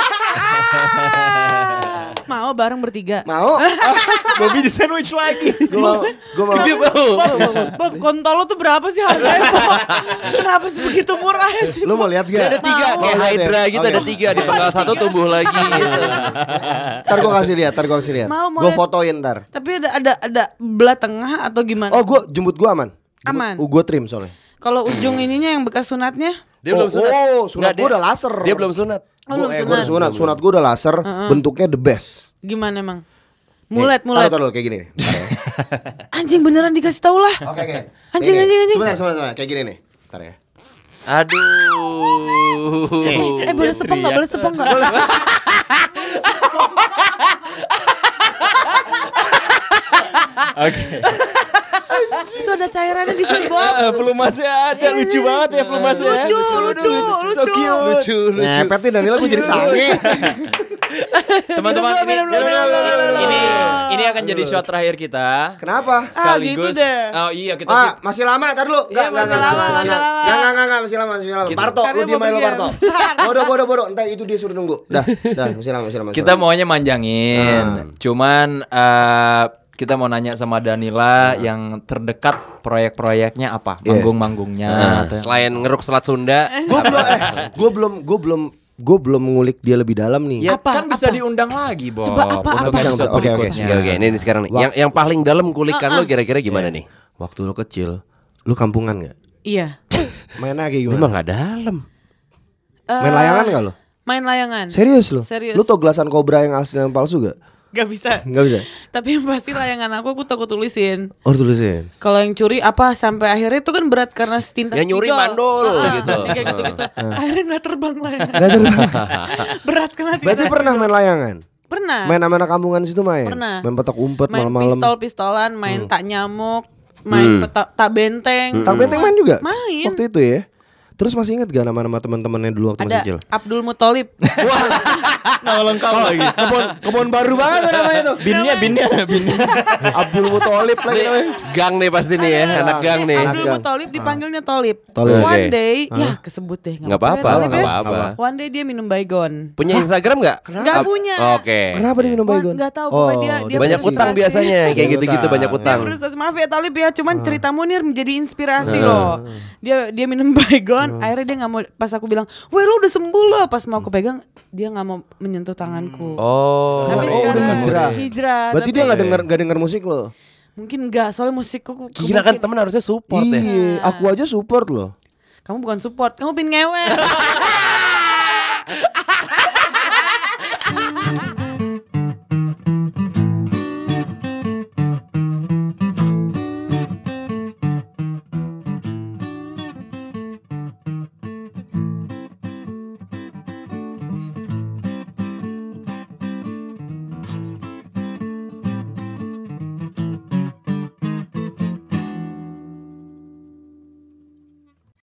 mau bareng bertiga. Mau? Bobby di sandwich lagi. Gue mau. Gue mau. Dia mau. Bob, kontol lo tuh berapa sih harganya, Bob? Kenapa sebegitu murah sih? Lu mau lihat Dia ada gak? tiga Mau kayak lihat ya? Hydra gitu, Oke. ada tiga di penggal satu tumbuh lagi gitu. Ntar gue kasih lihat, ntar gue kasih lihat. Mau, mau Gue lihat. fotoin ntar. Tapi ada ada ada belah tengah atau gimana? Oh gue jemput gue aman. Aman. Oh gue trim soalnya. Kalau ujung ininya yang bekas sunatnya? Dia belum Oh, sunat. oh, sunat Nggak, gua dia- udah laser. Dia belum sunat. Oh, Gue belum eh, gue udah sunat. sunat, sunat gue udah laser. Bentuknya the best. Gimana emang? Mulet, Nih, mulet. Taruh, taruh kayak gini nih. Bentar ya. Anjing beneran dikasih tau lah. Oke oke. Anjing, Nih, nih. anjing, anjing. Sebentar sebentar sebentar. Kayak gini nih. Bentar ya. Aduh. Eh boleh sepong nggak? Boleh sepong nggak? Oke. Itu ada cairannya di sini, Bob. Pelumasnya ada, lucu banget ya pelumasnya. Lucu, lucu, lucu. So cute. Lucu, lucu. Ngepet nih Danila gue jadi sange. Teman-teman, ini, Minum dulu, minum dulu, minum dulu. ini ini akan jadi shot terakhir kita. Kenapa? Sekaligus. gitu deh. Oh iya kita Ah, masih lama, tar dulu. Enggak, Iya, enggak, masih enggak, lama, enggak, masih enggak, lama. enggak, enggak, enggak, masih lama, masih lama. Parto, lu Karena diam mau aja lu pergi. Parto. Bodoh, bodoh, bodoh. Entar itu dia suruh nunggu. Dah, dah, masih lama, masih lama. masih kita lama. maunya manjangin. Cuman eh, kita mau nanya sama Danila yang terdekat proyek-proyeknya apa? Iya. Manggung-manggungnya Nah, atau yang- selain ngeruk selat Sunda, Gue belum, eh, gue belum, gue belum, gue belum ngulik dia lebih dalam nih. Ya Apa? kan bisa Apa? diundang lagi, Bob. Coba apa, Untuk apa? episode Oke, oke. berikutnya. Oke, oke, ini nih sekarang nih. Yang yang paling dalam kulikan lo kira-kira gimana nih? Waktu lu kecil, lu kampungan nggak? Iya. Mainnya kayak gimana? Emang nggak dalam. Main layangan nggak lo? Main layangan. Serius lo? Serius. Lu tau gelasan kobra yang asli yang palsu gak? Gak bisa. Nggak bisa. Tapi yang pasti layangan aku aku takut tulisin. Oh tulisin. Kalau yang curi apa sampai akhirnya itu kan berat karena setinta. Yang nyuri spidol. mandul, Ah, gitu. yang kayak gitu-gitu. Akhirnya nggak terbang layangan. Gak terbang. Berat karena Berarti pernah main layangan? Pernah. Main sama anak kampungan situ main? Pernah. Main petak umpet Main malam-malam. pistol-pistolan, main tak nyamuk, main Hmm. peta- tak benteng. Tak benteng main juga? Main. Waktu itu ya? Terus masih ingat gak nama-nama teman-temannya dulu waktu masih Ada kecil? Abdul Muthalib. Nama lengkap lagi. Kebon kebon baru banget namanya tuh. Binnya, binnya, binnya. Abdul Muthalib lagi Nih, namanya. gang nih pasti nih ya, anak gang nih. Abdul gang. Muthalib dipanggilnya Tolib. Tolib. One Oke. day, ya kesebut deh. Nggak apa-apa, Tolib nggak ya. apa-apa. One day dia minum baygon. Punya Instagram nggak? Nggak Ap- punya. Oke. Kenapa dia minum Wah, baygon? nggak tahu, pokoknya dia- dia Banyak Frustasi. utang biasanya kayak Banyak gitu-gitu utang. banyak utang. Terus maaf ya Tolib ya, cuman cerita Munir menjadi inspirasi loh. Dia dia minum baygon, akhirnya dia nggak mau. Pas aku bilang, weh lu udah sembuh loh. Pas mau aku pegang, dia nggak mau menyentuh tanganku. Oh. Tapi Oh, udah sekarang hijrah. Hijrah. Berarti tapi dia nggak denger nggak denger musik lo. mungkin enggak, soalnya musikku Gila kan mungkin- temen harusnya support ya. Iya, aku aja support loh. Kamu bukan support, kamu pin ngewe.